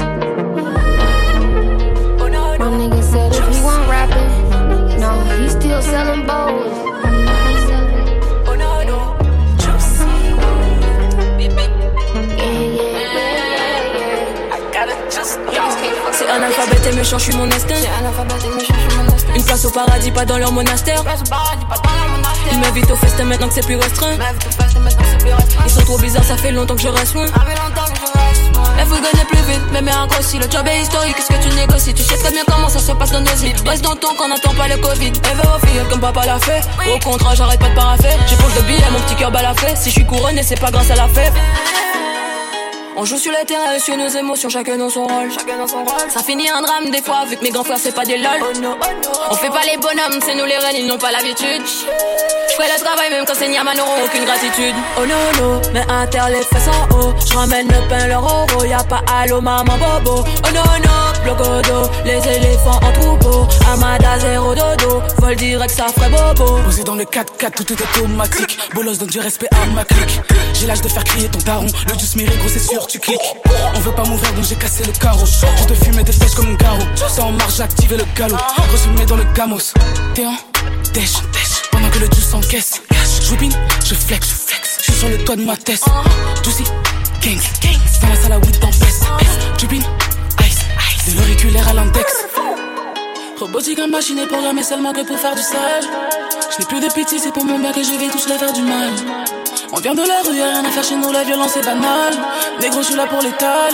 My nigga said if he wasn't rapping, no, he's still selling bows. C'est analphabète et méchant, je suis mon instinct. Une place au paradis, pas dans leur monastère. Ils m'invitent au festin maintenant que c'est plus restreint. Ils sont trop bizarres, ça fait longtemps que je reste loin. Elle veut gagner plus vite, mais un grossi. Le job est historique, qu'est-ce que tu négocies? Tu sais très bien comment ça se passe dans nos vies. Reste dans ton camp, n'attends pas le Covid. Elle veut au filleul comme papa l'a fait. Au contrat, j'arrête pas de paraffer. J'ai pose de billets, mon petit cœur balafé. Si je suis couronné, c'est pas grâce à la fève. On joue sur le terrain et sur nos émotions, chacun dans son rôle. Ça finit un drame des fois, vu que mes grands frères c'est pas des lol. On fait pas les bonhommes, c'est nous les reines, ils n'ont pas l'habitude. J'fais le travail même quand c'est Niaman n'auront aucune gratitude. Oh no no, mais inter les fesses en haut. J'ramène le pain, leur euro, y'a pas allô maman bobo. Oh no no, blocodo, les éléphants en troupeau. Amada zéro dodo, vol direct ça ferait bobo. Posé dans le 4x4, tout est automatique. Bolos donne du respect à ma clique. J'ai l'âge de faire crier ton daron. Le juice mérite gros c'est sûr tu cliques. On veut pas m'ouvrir donc j'ai cassé le carreau. Je te fumais des flèches comme un garrot. Ça en marche j'ai activé le galop. Résumé dans le gamos. T'es en dèche. Pendant que le juice s'encaisse. Je whippine, je flex. Je suis sur le toit de ma tête. Juicy, gangs. Dans la salle à weed dans fesse. Whippine, ice. De l'auriculaire à l'index. Robotique en machine est programmée seulement que pour faire du sale. Je n'ai plus de pitié, c'est pour mon bac et je vais tous leur faire du mal. On vient de la rue, y'a rien à faire chez nous, la violence est banale. Négro, je suis là pour l'étal.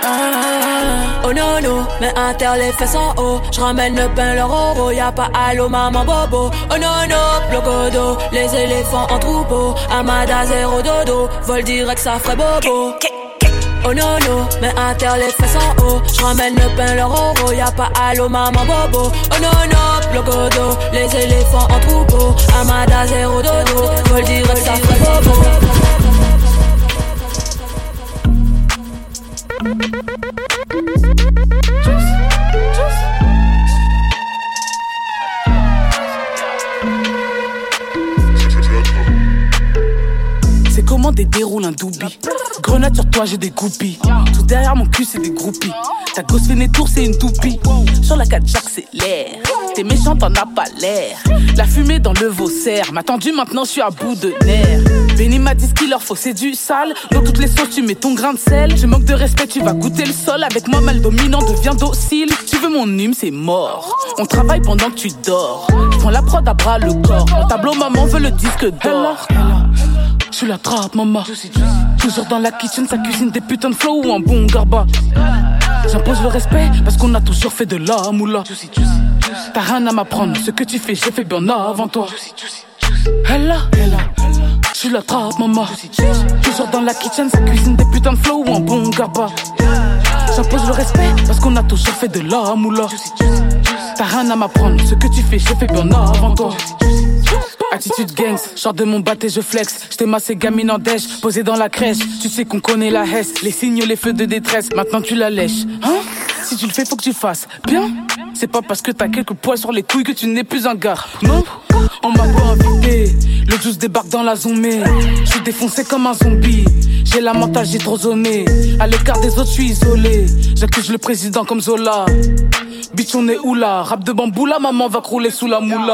Oh no no, mais inter les fesses en haut. J'ramène le pain, leur euro, y'a pas allô maman bobo. Oh no no, blocodo, les éléphants en troupeau. Amada zéro dodo, vol direct ça ferait bobo. Oh no no, mais inter les fesses en haut. J'ramène le pain, leur euro, y'a pas allô maman bobo. Oh no no, blocodo, les éléphants en troupeau. Amada zéro dodo, vol direct ça ferait bobo. C'est comment des déroule un doubi. Grenade sur toi, j'ai des groupies. Tout derrière mon cul, c'est des groupies. Ta gosse fait des tours, c'est une toupie. Sur la 4, j'accélère. T'es méchant, t'en as pas l'air. La fumée dans le Vaussaire m'a tendu, maintenant je suis à bout de nerfs. Benny m'a dit ce qu'il leur faut, c'est du sale. Dans toutes les sauces, tu mets ton grain de sel. Je manque de respect, tu vas goûter le sol. Avec moi, mal dominant, deviens docile. Tu veux mon hume, c'est mort. On travaille pendant que tu dors. Je prends la prod à bras le corps. Mon tableau, maman veut le disque d'or. Je suis la trappe, maman. Toujours dans la kitchen, ça cuisine des putains de flow ou un bon garba. J'impose le respect parce qu'on a toujours fait de la moula. T'as rien à m'apprendre, ce que tu fais, j'ai fait bien avant toi. Hella, je suis la trappe, maman. Toujours dans la kitchen, ça cuisine des putains de flow ou un bon garba. J'impose le respect parce qu'on a toujours fait de la moula. T'as rien à m'apprendre, ce que tu fais, j'ai fait bien avant toi. Attitude gangs, sors de mon bat et je flex. J't'ai massé gamine en dèche, posé dans la crèche. Tu sais qu'on connaît la hesse, les signes, les feux de détresse. Maintenant tu la lèches, hein? Si tu le fais, faut que tu fasses bien. C'est pas parce que t'as quelques poils sur les couilles que tu n'es plus un gars. Non, on m'a pas invité. Le juice débarque dans la zombie. J'suis défoncé comme un zombie. J'ai la mentale, j'ai trop zoné. À l'écart des autres, j'suis isolé. J'accuse le président comme Zola. Bitch, on est où là? Rap de bambou, la maman va crouler sous la moula.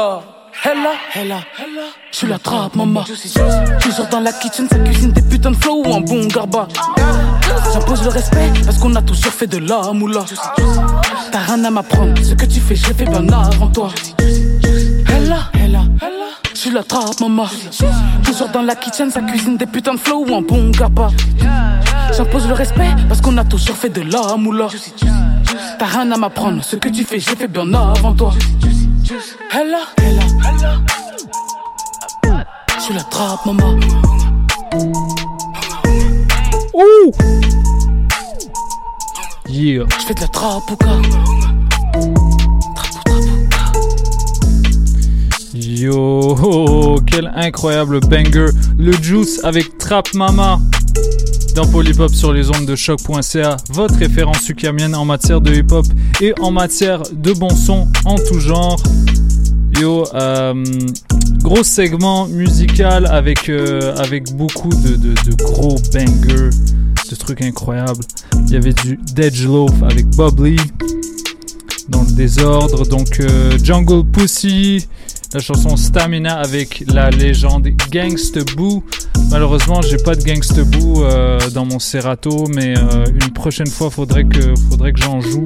Hella, tu l'attrapes, maman. Tu sors dans la kitchen, ça cuisine des putains de flow ou un bon garba. J'impose le respect parce qu'on a toujours fait de la moula. T'as rien à m'apprendre, ce que tu fais, je l'ai fait bien avant toi. Hella, tu l'attrapes, maman. Tu sors dans la kitchen, ça cuisine des putains de flow ou un bon garba. J'impose le respect parce qu'on a toujours fait de la moula. T'as rien à m'apprendre, ce que tu fais, je l'ai fait bien avant toi. Hella, tu l'attrapes, maman. Ouh! Yeah. Je fais de la trapouka. Yo, quel incroyable banger. Le Juice avec Trap Mama dans Polypop sur les ondes de choc.ca, votre référence ukamienne en matière de hip-hop et en matière de bon son en tout genre. Yo, gros segment musical avec beaucoup de gros bangers, de trucs incroyables. Il y avait du Dej-Loaf avec Bubbly dans le désordre, donc Jungle Pussy, la chanson Stamina avec la légende Gangsta Boo. Malheureusement, j'ai pas de Gangsta Boo dans mon Serato, mais une prochaine fois, faudrait que j'en joue.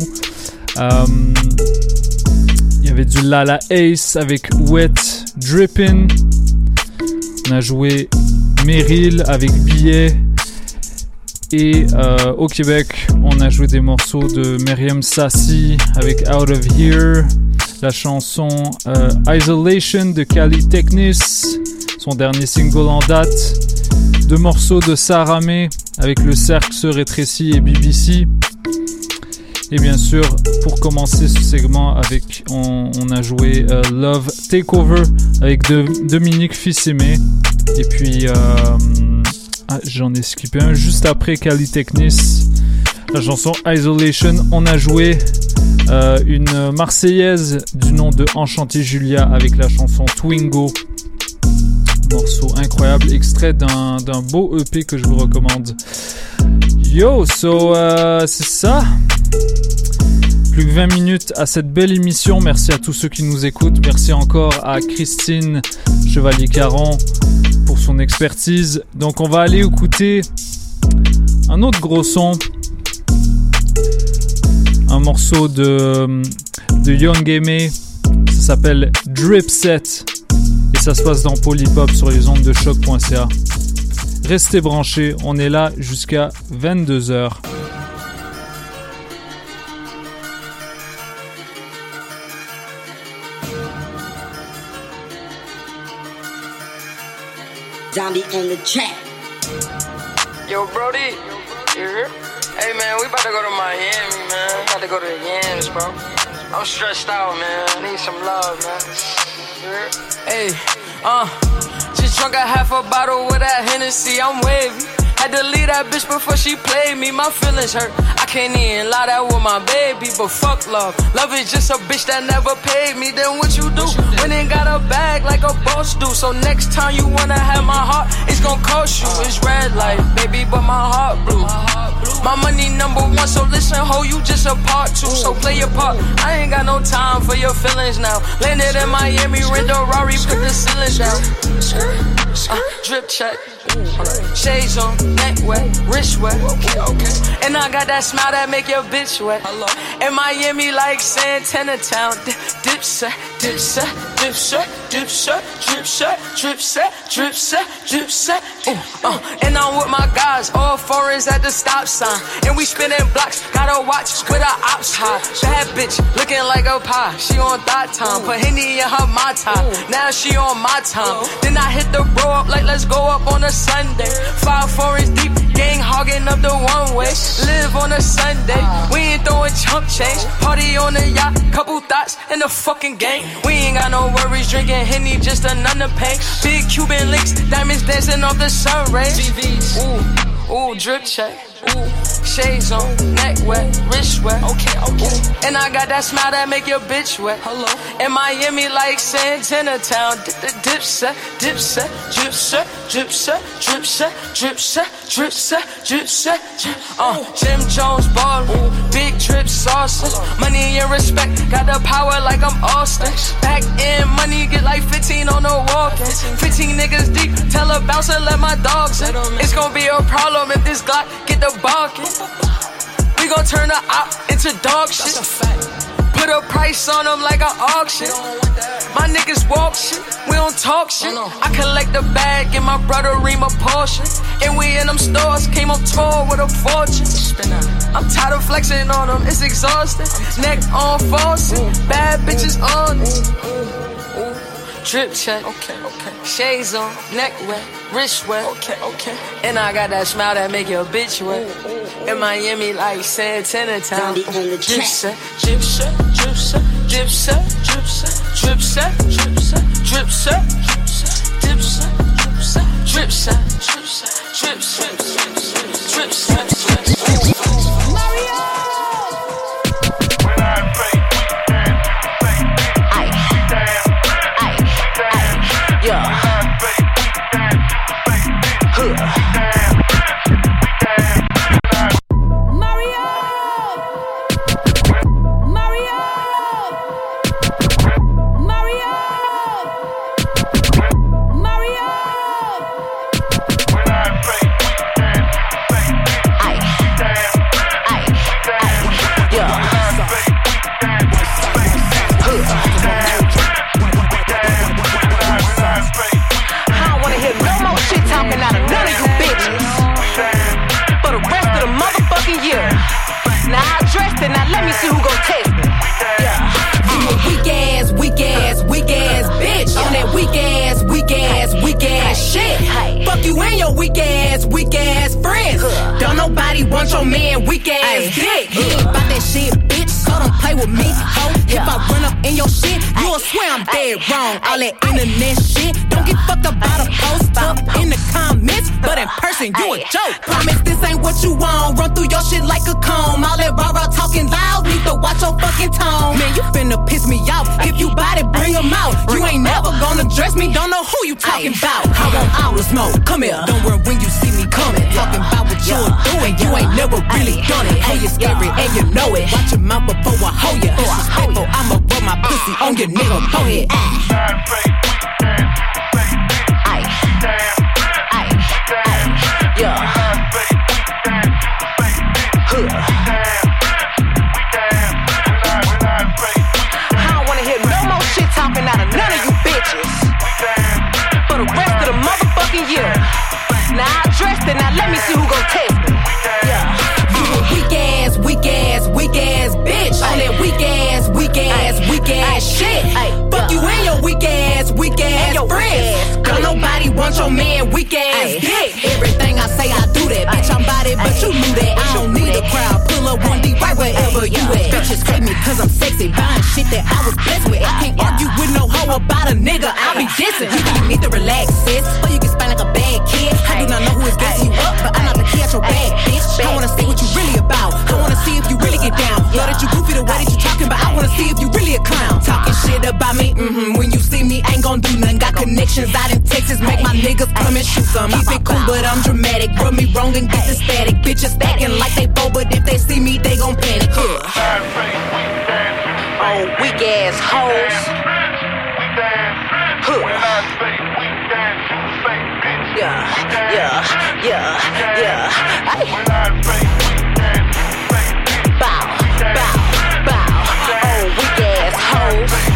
Il y avait du Lala Ace avec Wet Drippin'. On a joué Meryl avec Billet. Et au Québec, on a joué des morceaux de Myriam Sassi avec Out of Here. La chanson Isolation de Kali Technis, son dernier single en date. 2 morceaux de Sarah May avec Le Cercle se rétrécit et BBC. Et bien sûr, pour commencer ce segment, on a joué Love Takeover avec Dominique Fils-Aimé. Et puis, j'en ai skippé un juste après Kali Technis. La chanson Isolation, on a joué une Marseillaise du nom de Enchanté Julia avec la chanson Twingo. Morceau incroyable, extrait d'un beau EP que je vous recommande. Yo, c'est ça. Plus que 20 minutes à cette belle émission. Merci à tous ceux qui nous écoutent. Merci encore à Christine Chevalier-Caron pour son expertise. Donc on va aller écouter un autre gros son. Un morceau de Young M.A. Ça s'appelle Drip Set. Et ça se passe dans Polypop sur les ondes de choc.ca. Restez branchés, on est là jusqu'à 22h. Zombie in the chat. Yo, Brody, you here? Hey, man, we about to go to Miami, man. We about to go to the Yams, bro. I'm stressed out, man. I need some love, man. You hear? Hey, just drunk a half a bottle with that Hennessy. I'm wavy. Had to leave that bitch before she played me. My feelings hurt. I can't even lie that with my baby, but fuck love. Love is just a bitch that never paid me. Then what you do? When it got a bag like a boss do. So next time you wanna have my heart, it's gon' cost you. It's red light, baby, but my heart blue. My money number one, so listen, ho, you just a part two. So play your part. I ain't got no time for your feelings now. Landed in Miami, rent a Rari, put the ceilings down. Drip check. Shades on, neck wet, wrist wet. Okay. And I got that smile that make your bitch wet. In Miami, like Santana Town. Dip set, dip set, dip set, dip set, drip set, drip set, drip set, drip set. And I'm with my guys, all foreigns at the stop sign. And we spinning blocks, got a watch with her ops high. Bad bitch, looking like a pie. She on that time, put Henny in her my time. Now she on my time. Then I hit the bro up like let's go up on a Sunday. 5 foreigns deep, gang hogging up the one way. Live on a Sunday, we ain't throwing chump change. Party on the yacht, couple thoughts in the fucking gang. We ain't got no worries, drinking Henny, just another pain. Big Cuban links, diamonds dancing off the sun rays. Ooh, drip check. Ooh, Shades on, neck wet, wrist wet. Okay. And I got that smile that make your bitch wet. Hello. In Miami like Santana Town. Dip set, drip set, drip set, drip set, drip set, drip set, drip set, drip set. Jim Jones ballin', big drip sauces. Money and respect, got the power like I'm Austin. Back in money, get like 15 on the walkin'. 15 niggas deep, tell a bouncer let my dogs in. It's gon' be a problem if this Glock get the barking. We gon' turn the op into dog shit. Put a price on them like an auction. My niggas walk shit, we don't talk shit. I collect the bag, give my brother Reem a portion. And we in them stores, came on tour with a fortune. I'm tired of flexing on them, it's exhausting. Neck on faucet, bad bitches on it. Drip check, shades on, neck wet, wrist wet, and I got that smile that make your bitch wet. In Miami like Santana Town. Drip set, drip set, drip set, drip set, drip set, drip set, drip set, drip set, drip set, drip set, drip set, drip set, drip set, drip set. Mario. Now let me see who gon' test me. I'm a weak ass bitch. On that weak ass shit. Fuck you and your weak ass friends. Don't nobody want your man weak ass dick. He ain't about that shit, bitch. So don't play with me, ho. If I run up in your shit, you'll swear I'm dead wrong. All that internet shit, don't get fucked about a post up in the comments, but in person you a joke. Promise this ain't what you want. Run through your shit like a comb. All that rah-rah talking loud, need to watch your fucking tone. Man, you finna piss me off. If you bout it, bring them out. You ain't never gonna dress me, don't know who you talking about. I want all the smoke, come here. Don't worry when you see me coming. Talking about what you're doing, you ain't never really done it. Hey, you're scary and you know it. Watch your mouth before I hold you. Disrespectful, I'ma rub my pussy on your nigga forehead. I don't wanna hear no more shit talking out of none of you bitches for the rest of the motherfucking year. Now I dressed it, now let me see who gon' test me. You a weak ass bitch. On that weak ass shit. Fuck you and your weak ass friends. Don't nobody want your man weak ass dick. Everything I say, I do that. Bitch, I'm body, but you knew that. I don't need a crowd. Pull up 1D right wherever you at. Bitches hate me cause I'm sexy. Buying shit that I was blessed with. I can't argue with no hoe about a nigga. I'll be dissing. You need to relax, sis. Or you can spend like a bad kid. I do not know who is gassing you up, but I'm not the kid at your bag, bitch. I wanna see what you really about. I wanna see if you really get down. Know that you goofy the way that you talking, but I wanna see if you really a clown. Talking shit about me, when you see me, ain't gon' do nothing. Got connections out in Texas, make my niggas come and shoot some. Keep it cool, but I'm dramatic. Rub me wrong and get the static. Bitches stacking like they bold, but if they see me, they gon' panic. Oh, weak ass hoes. Yeah. Bow. Oh, weak ass hoes.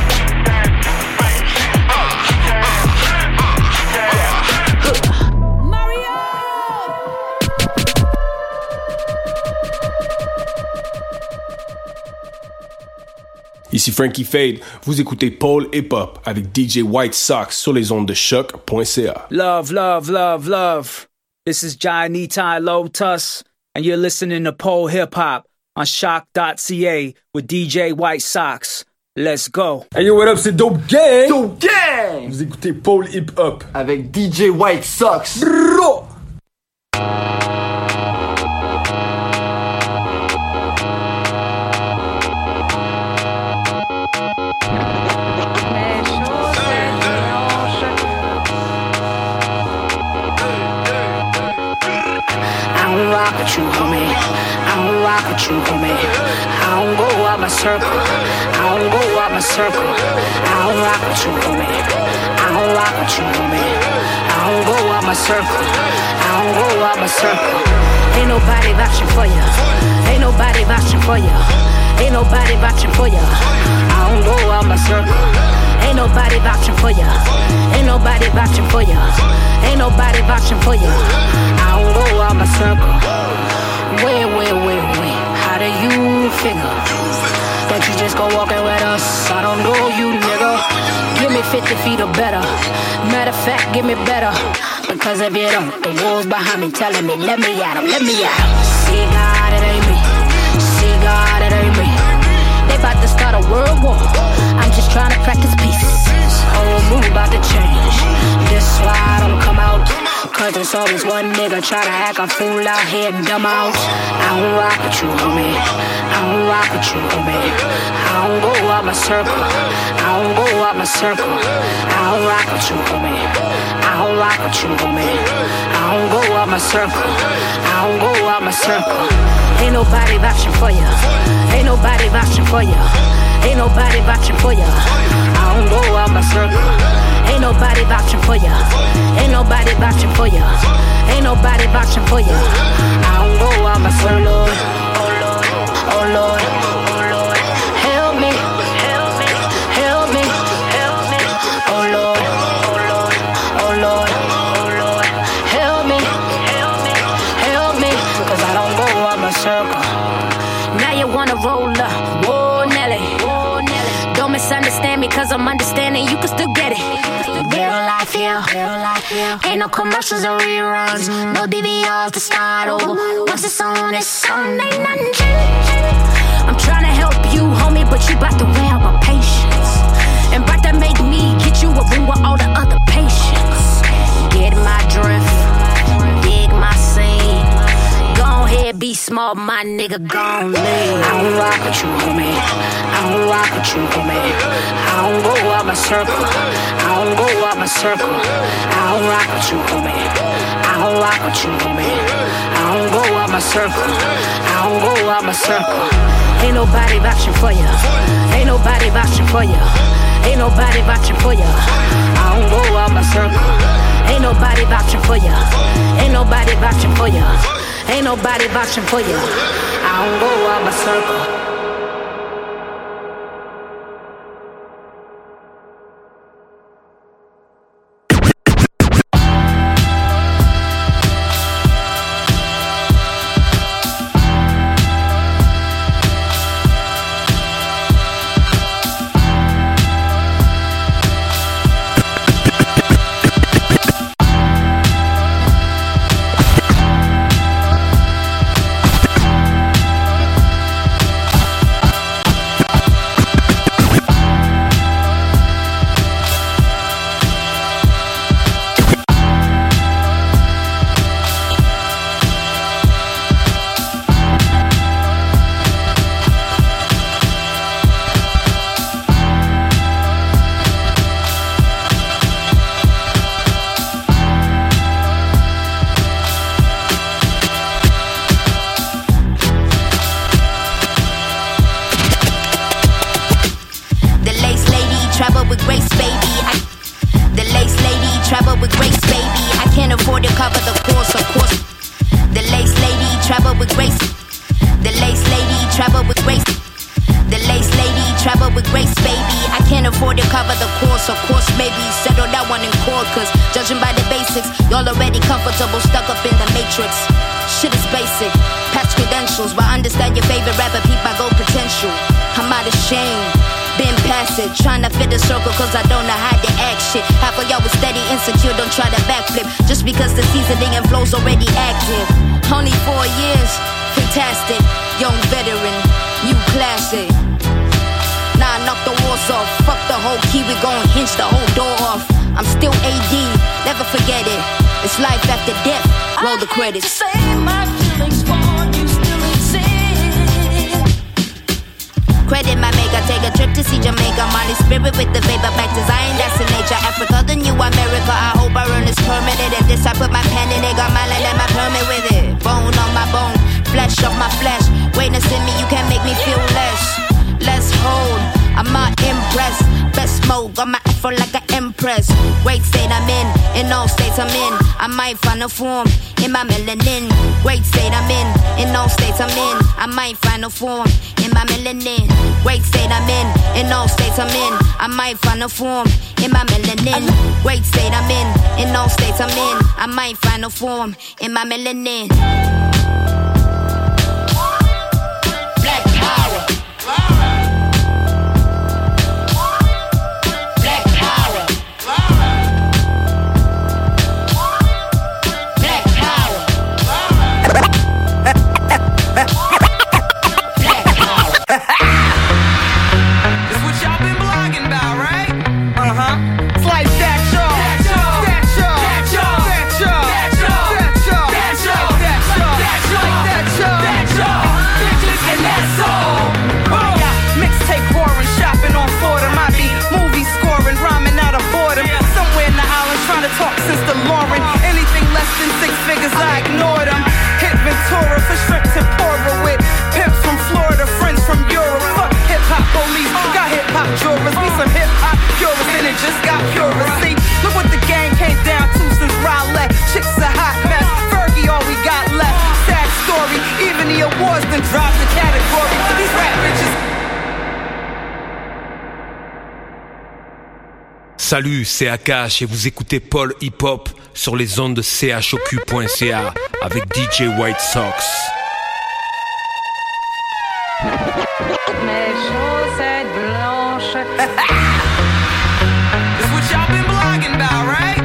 Ici Frankie Fade, vous écoutez Paul Hip Hop avec DJ White Sox sur les ondes de choc.ca. Love. This is Johnny Ty Lotus, and you're listening to Paul Hip Hop on shock.ca with DJ White Sox. Let's go. Hey yo, what up, c'est Dope Gang. Dope Gang. Vous écoutez Paul Hip Hop avec DJ White Sox. Bro. don't rock with you, homie. I don't rock with you, homie. I don't go out my circle. I don't go out my circle. I don't rock with you, homie. I don't rock with you, homie. I don't go out my circle. I don't go out my circle. Ain't nobody vouching for ya. Ain't nobody vouching for ya. Ain't nobody vouching for ya. I don't go out my circle. Ain't nobody vouching for ya. Ain't nobody vouching for ya. Ain't nobody vouching for ya. I don't go out my circle. Wait. How do you figure that you just go walking with us? I don't know you, nigga. Give me 50 feet or better. Matter of fact, give me better. Because if you don't, the wolves behind me telling me, let me at 'em, let me at 'em. See God, it ain't me. See God, it ain't me. They about to start a world war. I'm just trying to practice peace. Whole mood about to change. This why I don't come out. Cause there's always one nigga try to act a fool out here and dumb out. I don't rock with you, homie. I don't rock with you, homie. I don't go out my circle. I don't go out my circle. I don't rock with you, homie. I don't rock with you, homie. I don't go out my circle. I don't go out my circle. Ain't nobody vouching for ya. Ain't nobody vouching for ya. Ain't nobody vouching for ya. I don't go out my circle. Ain't nobody vouching for ya. Ain't nobody vouching for ya. Ain't nobody vouching for ya. I don't go out my circle. Oh Lord, oh Lord, oh Lord, help me, help me, help me, help me. Oh Lord, oh Lord, oh Lord, oh Lord, help me, help me, help me. Cause I don't go out my circle. Now you wanna roll up, whoa Nelly. Don't misunderstand me cause I'm understanding you can still get it. Real life here, ain't no commercials or reruns. No DVRs to start over. Once it's on, ain't nothing changed. I'm trying to help you, homie, but you bout to wear out my patience. And bout to make me get you a room with all the other patients. Get my drift, dig my scene. Go ahead, be smart, my nigga, gon' leave. I don't rock with you, homie. I don't rock with you, homie. I don't go out my circle. I don't go out my circle. I don't rock with you, homie. I don't rock with you, homie. I don't go out my circle. I don't go out my circle. Ain't nobody vouching for ya. Ain't nobody vouching for ya. Ain't nobody vouching for ya. I don't go out my circle. Ain't nobody vouching for ya. Ain't nobody vouching for ya. Ain't nobody vouching for ya. I don't go out my circle. Trying to fit the circle cause I don't know how to act shit. Half of y'all was steady insecure, don't try to backflip. Just because the seasoning and flow's already active. Only 4 years, fantastic. Young veteran, new classic. Nah, knock the walls off. Fuck the whole key, we gon' hinge the whole door off. I'm still AD, never forget it. It's life after death, roll the credits. Say my feelings for you still exist. Credit my maker, take a trip to see Jamaica. Molly spirit with the vapor, back to Zion, that's in nature. Africa, the new America, I hope I earn this permanent. And this I put my pen in it, got my land and my permit with it. Bone on got my afro like an empress. Great state I'm in all states I'm in. I might find a form in my melanin. Great state I'm in all states I'm in. I might find a form in my melanin. Great state I'm in all states I'm in. I might find a form in my melanin. Great state I'm in all states I'm in. I might find a form in my melanin. Black power. Black power. Black power. Black power. That's what y'all been blogging about, right? It's like that, y'all. That y'all. That y'all. That y'all. That y'all. That y'all. That y'all. That y'all. That y'all. That y'all. That y'all. Bitches and that's all. Yeah, mixtape whoring, shopping on Fordham. I be movie scoring, rhyming out of boredom. Somewhere in the islands trying to talk since the Lauren. Anything less than 6 figures, I ignore them. Hit Ventura for shrimp tempura with pimps from Florida, friends from Europe. Fuck hip-hop police, got hip-hop jurors. We some hip-hop purists and it just got purer. See, look what the gang came down to since Rowlett. Chicks a hot mess, Fergie all we got left. Sad story, even the awards done dropped the category. These rap bitches. Salut, c'est Akash et vous écoutez Paul Hip Hop sur les ondes de choq.ca avec DJ White Sox. Mes chaussettes blanches. That's what y'all been blogging about, right?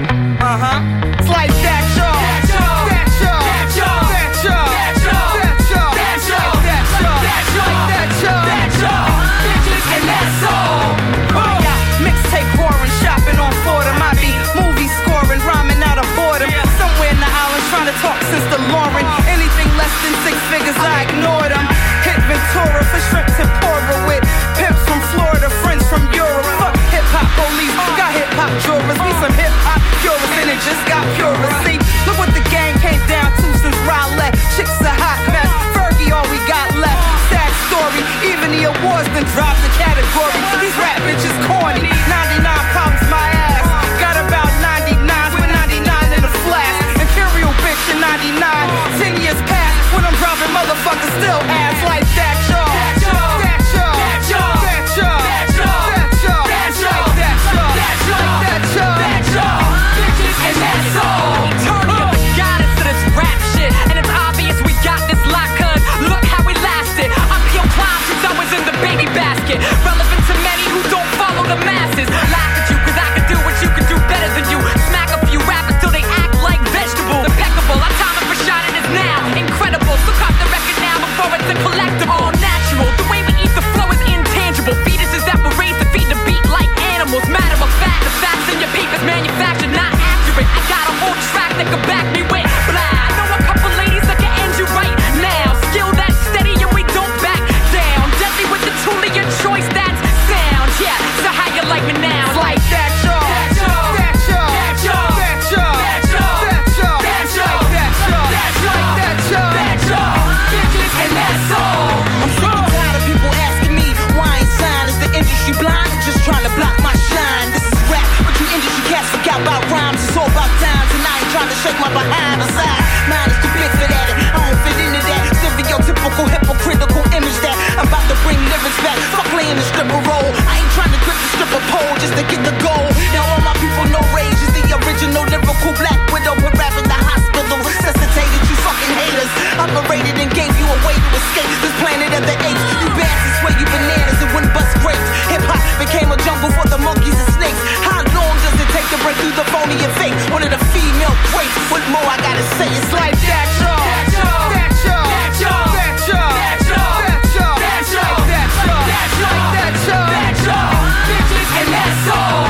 It's like that, y'all. That y'all. That y'all. That y'all. That y'all. That y'all. That y'all. That y'all. That y'all. That y'all. That y'all. Bitches and that's all. Yeah, mixtape whoring, shopping on Fordham. I be movie scoring, rhyming out of boredom. Somewhere in the islands trying to talk since the Lauren. Anything less than 6 figures, I ignore them. Hit Ventura for shrimp tempura with pimps from Florida, friends from Europe. Fuck hip-hop police, got hip-hop jurors. We some hip-hop purists and it just got purer. See, look what the gang came down to since Rowlett. Chicks a hot mess, Fergie all we got left. Sad story, even the awards done dropped the category. These rap bitches corny, 99 problems my ass. Got about 99s with 99 in the flash. Imperial bitch in 99, 10 years past when I'm dropping motherfuckers still ass like that, y'all. That y'all. That y'all. That y'all. That y'all. That y'all. That y'all. That y'all. That y'all. That y'all. That y'all. Bitches and that's all. Turning up the goddess to this rap shit, and it's obvious we got this lock, cause look how we lasted. I'm pure clown since I was in the baby basket. Relevant to many who don't follow the masses. Laugh at you cause I can do what you can do better than you. Smack a few rappers till they act like vegetables. Impeccable, our time for shining is now. Incredible, so cop the record now before it's a collectible. All natural, the way we eat the flow is intangible. Fetuses that were raised to feed the beat like animals. Matter of fact, the facts in your papers manufactured, not accurate. I got a whole track that could back me with blah. I know a couple ladies that can end you right now. Skill that's steady and we don't back down. Deadly with the tool of your choice, that's sound. Yeah, so how you like me now? It's like that, y'all. That y'all. That y'all. That y'all. That y'all. That y'all. That y'all. That y'all. That y'all. That y'all. That y'all. Bitches and that's all. I'm sick and tired of people asking me why I ain't signed. Is the industry blind or just trying to block my shine? This is rap, but you industry cats forgot about rhymes. It's all about times, and I ain't trying to shake my behind. Besides, mine is too big for that. I don't fit into that stereotypical, hypocritical image that I'm about to bring lyrics back. Fuck playing the stripper role. I ain't trying to grip the stripper pole just to get the goal. Now all my people know Rage is the original lyrical black widow. Put rap in the hospital, resuscitated you fucking haters. Operated and gave you a way to escape this planet of the apes. You bastards swear you bananas and wouldn't bust grapes. Hip hop became a jungle for the monkeys and snakes. How long does it take to break through the phony and fake? One of the female greats. What more I gotta say? It's like that, y'all. That y'all. That y'all. That y'all. That y'all. That y'all. That y'all. That y'all. That y'all. That y'all. That y'all. That y'all. Bitches and that's all.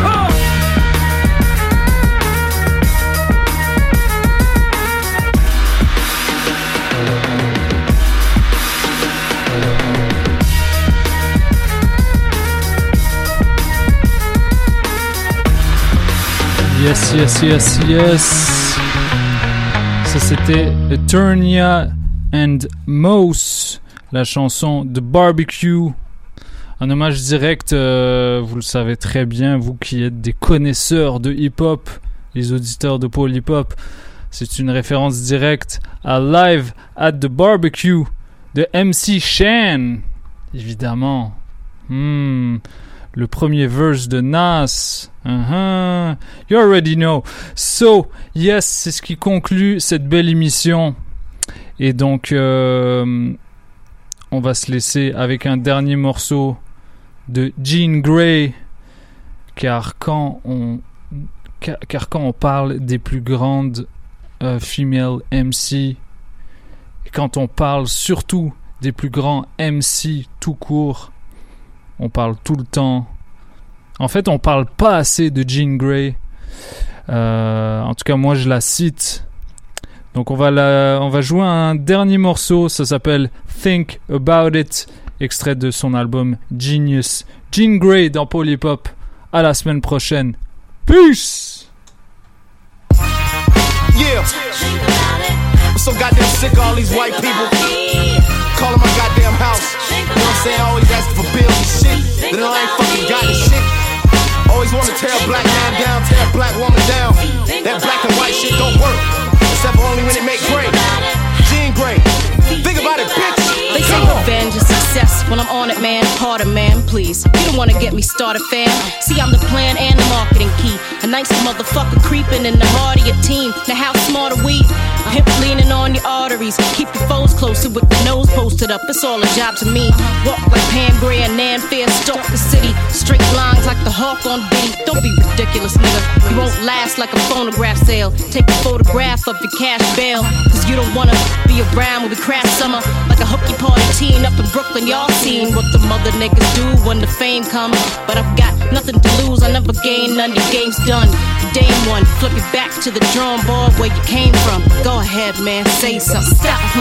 Yes, yes, yes, yes. Ça c'était Eternia and Mose, la chanson de Barbecue. Un hommage direct, vous le savez très bien, vous qui êtes des connaisseurs de hip-hop, les auditeurs de Paul Hip Hop. C'est une référence directe à Live at the Barbecue de MC Shan, évidemment. Le premier verse de Nas. You already know. So, yes, c'est ce qui conclut cette belle émission. Et donc, on va se laisser avec un dernier morceau de Jean Grey. Car quand on parle des plus grandes female MC, et quand on parle surtout des plus grands MC tout court, on parle tout le temps. En fait, on parle pas assez de Jean Grey. En tout cas, moi, je la cite. Donc, on va jouer un dernier morceau. Ça s'appelle Think About It, extrait de son album Genius. Jean Grey dans Paul Hip Hop. À la semaine prochaine. Peace! Yeah. I'm so goddamn sick of all these white people calling my goddamn house. You know what I'm saying? Always asking for bills and shit. Then I ain't fucking got the shit. Always wanna tear a black man down, tear a black woman down. That black and white shit don't work, except for only when it make gray. Jean Grey. Think about it, bitch. They say revenge is success. When I'm on it, man, harder, man, please. You don't wanna get me started, fam. See, I'm the plan and the marketing key. A nice motherfucker creeping in the heart of your team. Now how smart are we? Hip leaning on your arteries. Keep your foes closer with the nose posted up. It's all a job to me. Walk like Pam Grier and Nan Fair. Stalk the city. Straight lines like the hawk on Biddy. Don't be ridiculous, nigga. You won't last like a phonograph sale. Take a photograph of your cash bail. Cause you don't wanna be around when we crash summer. Like a hooky party teen up in Brooklyn. Y'all seen what the mother niggas do when the fame comes. But I've got nothing to lose. I never gain none. Your game's done. Dame one. Flip it back to the drawing board where you came from. Go ahead, man. Say something. Stop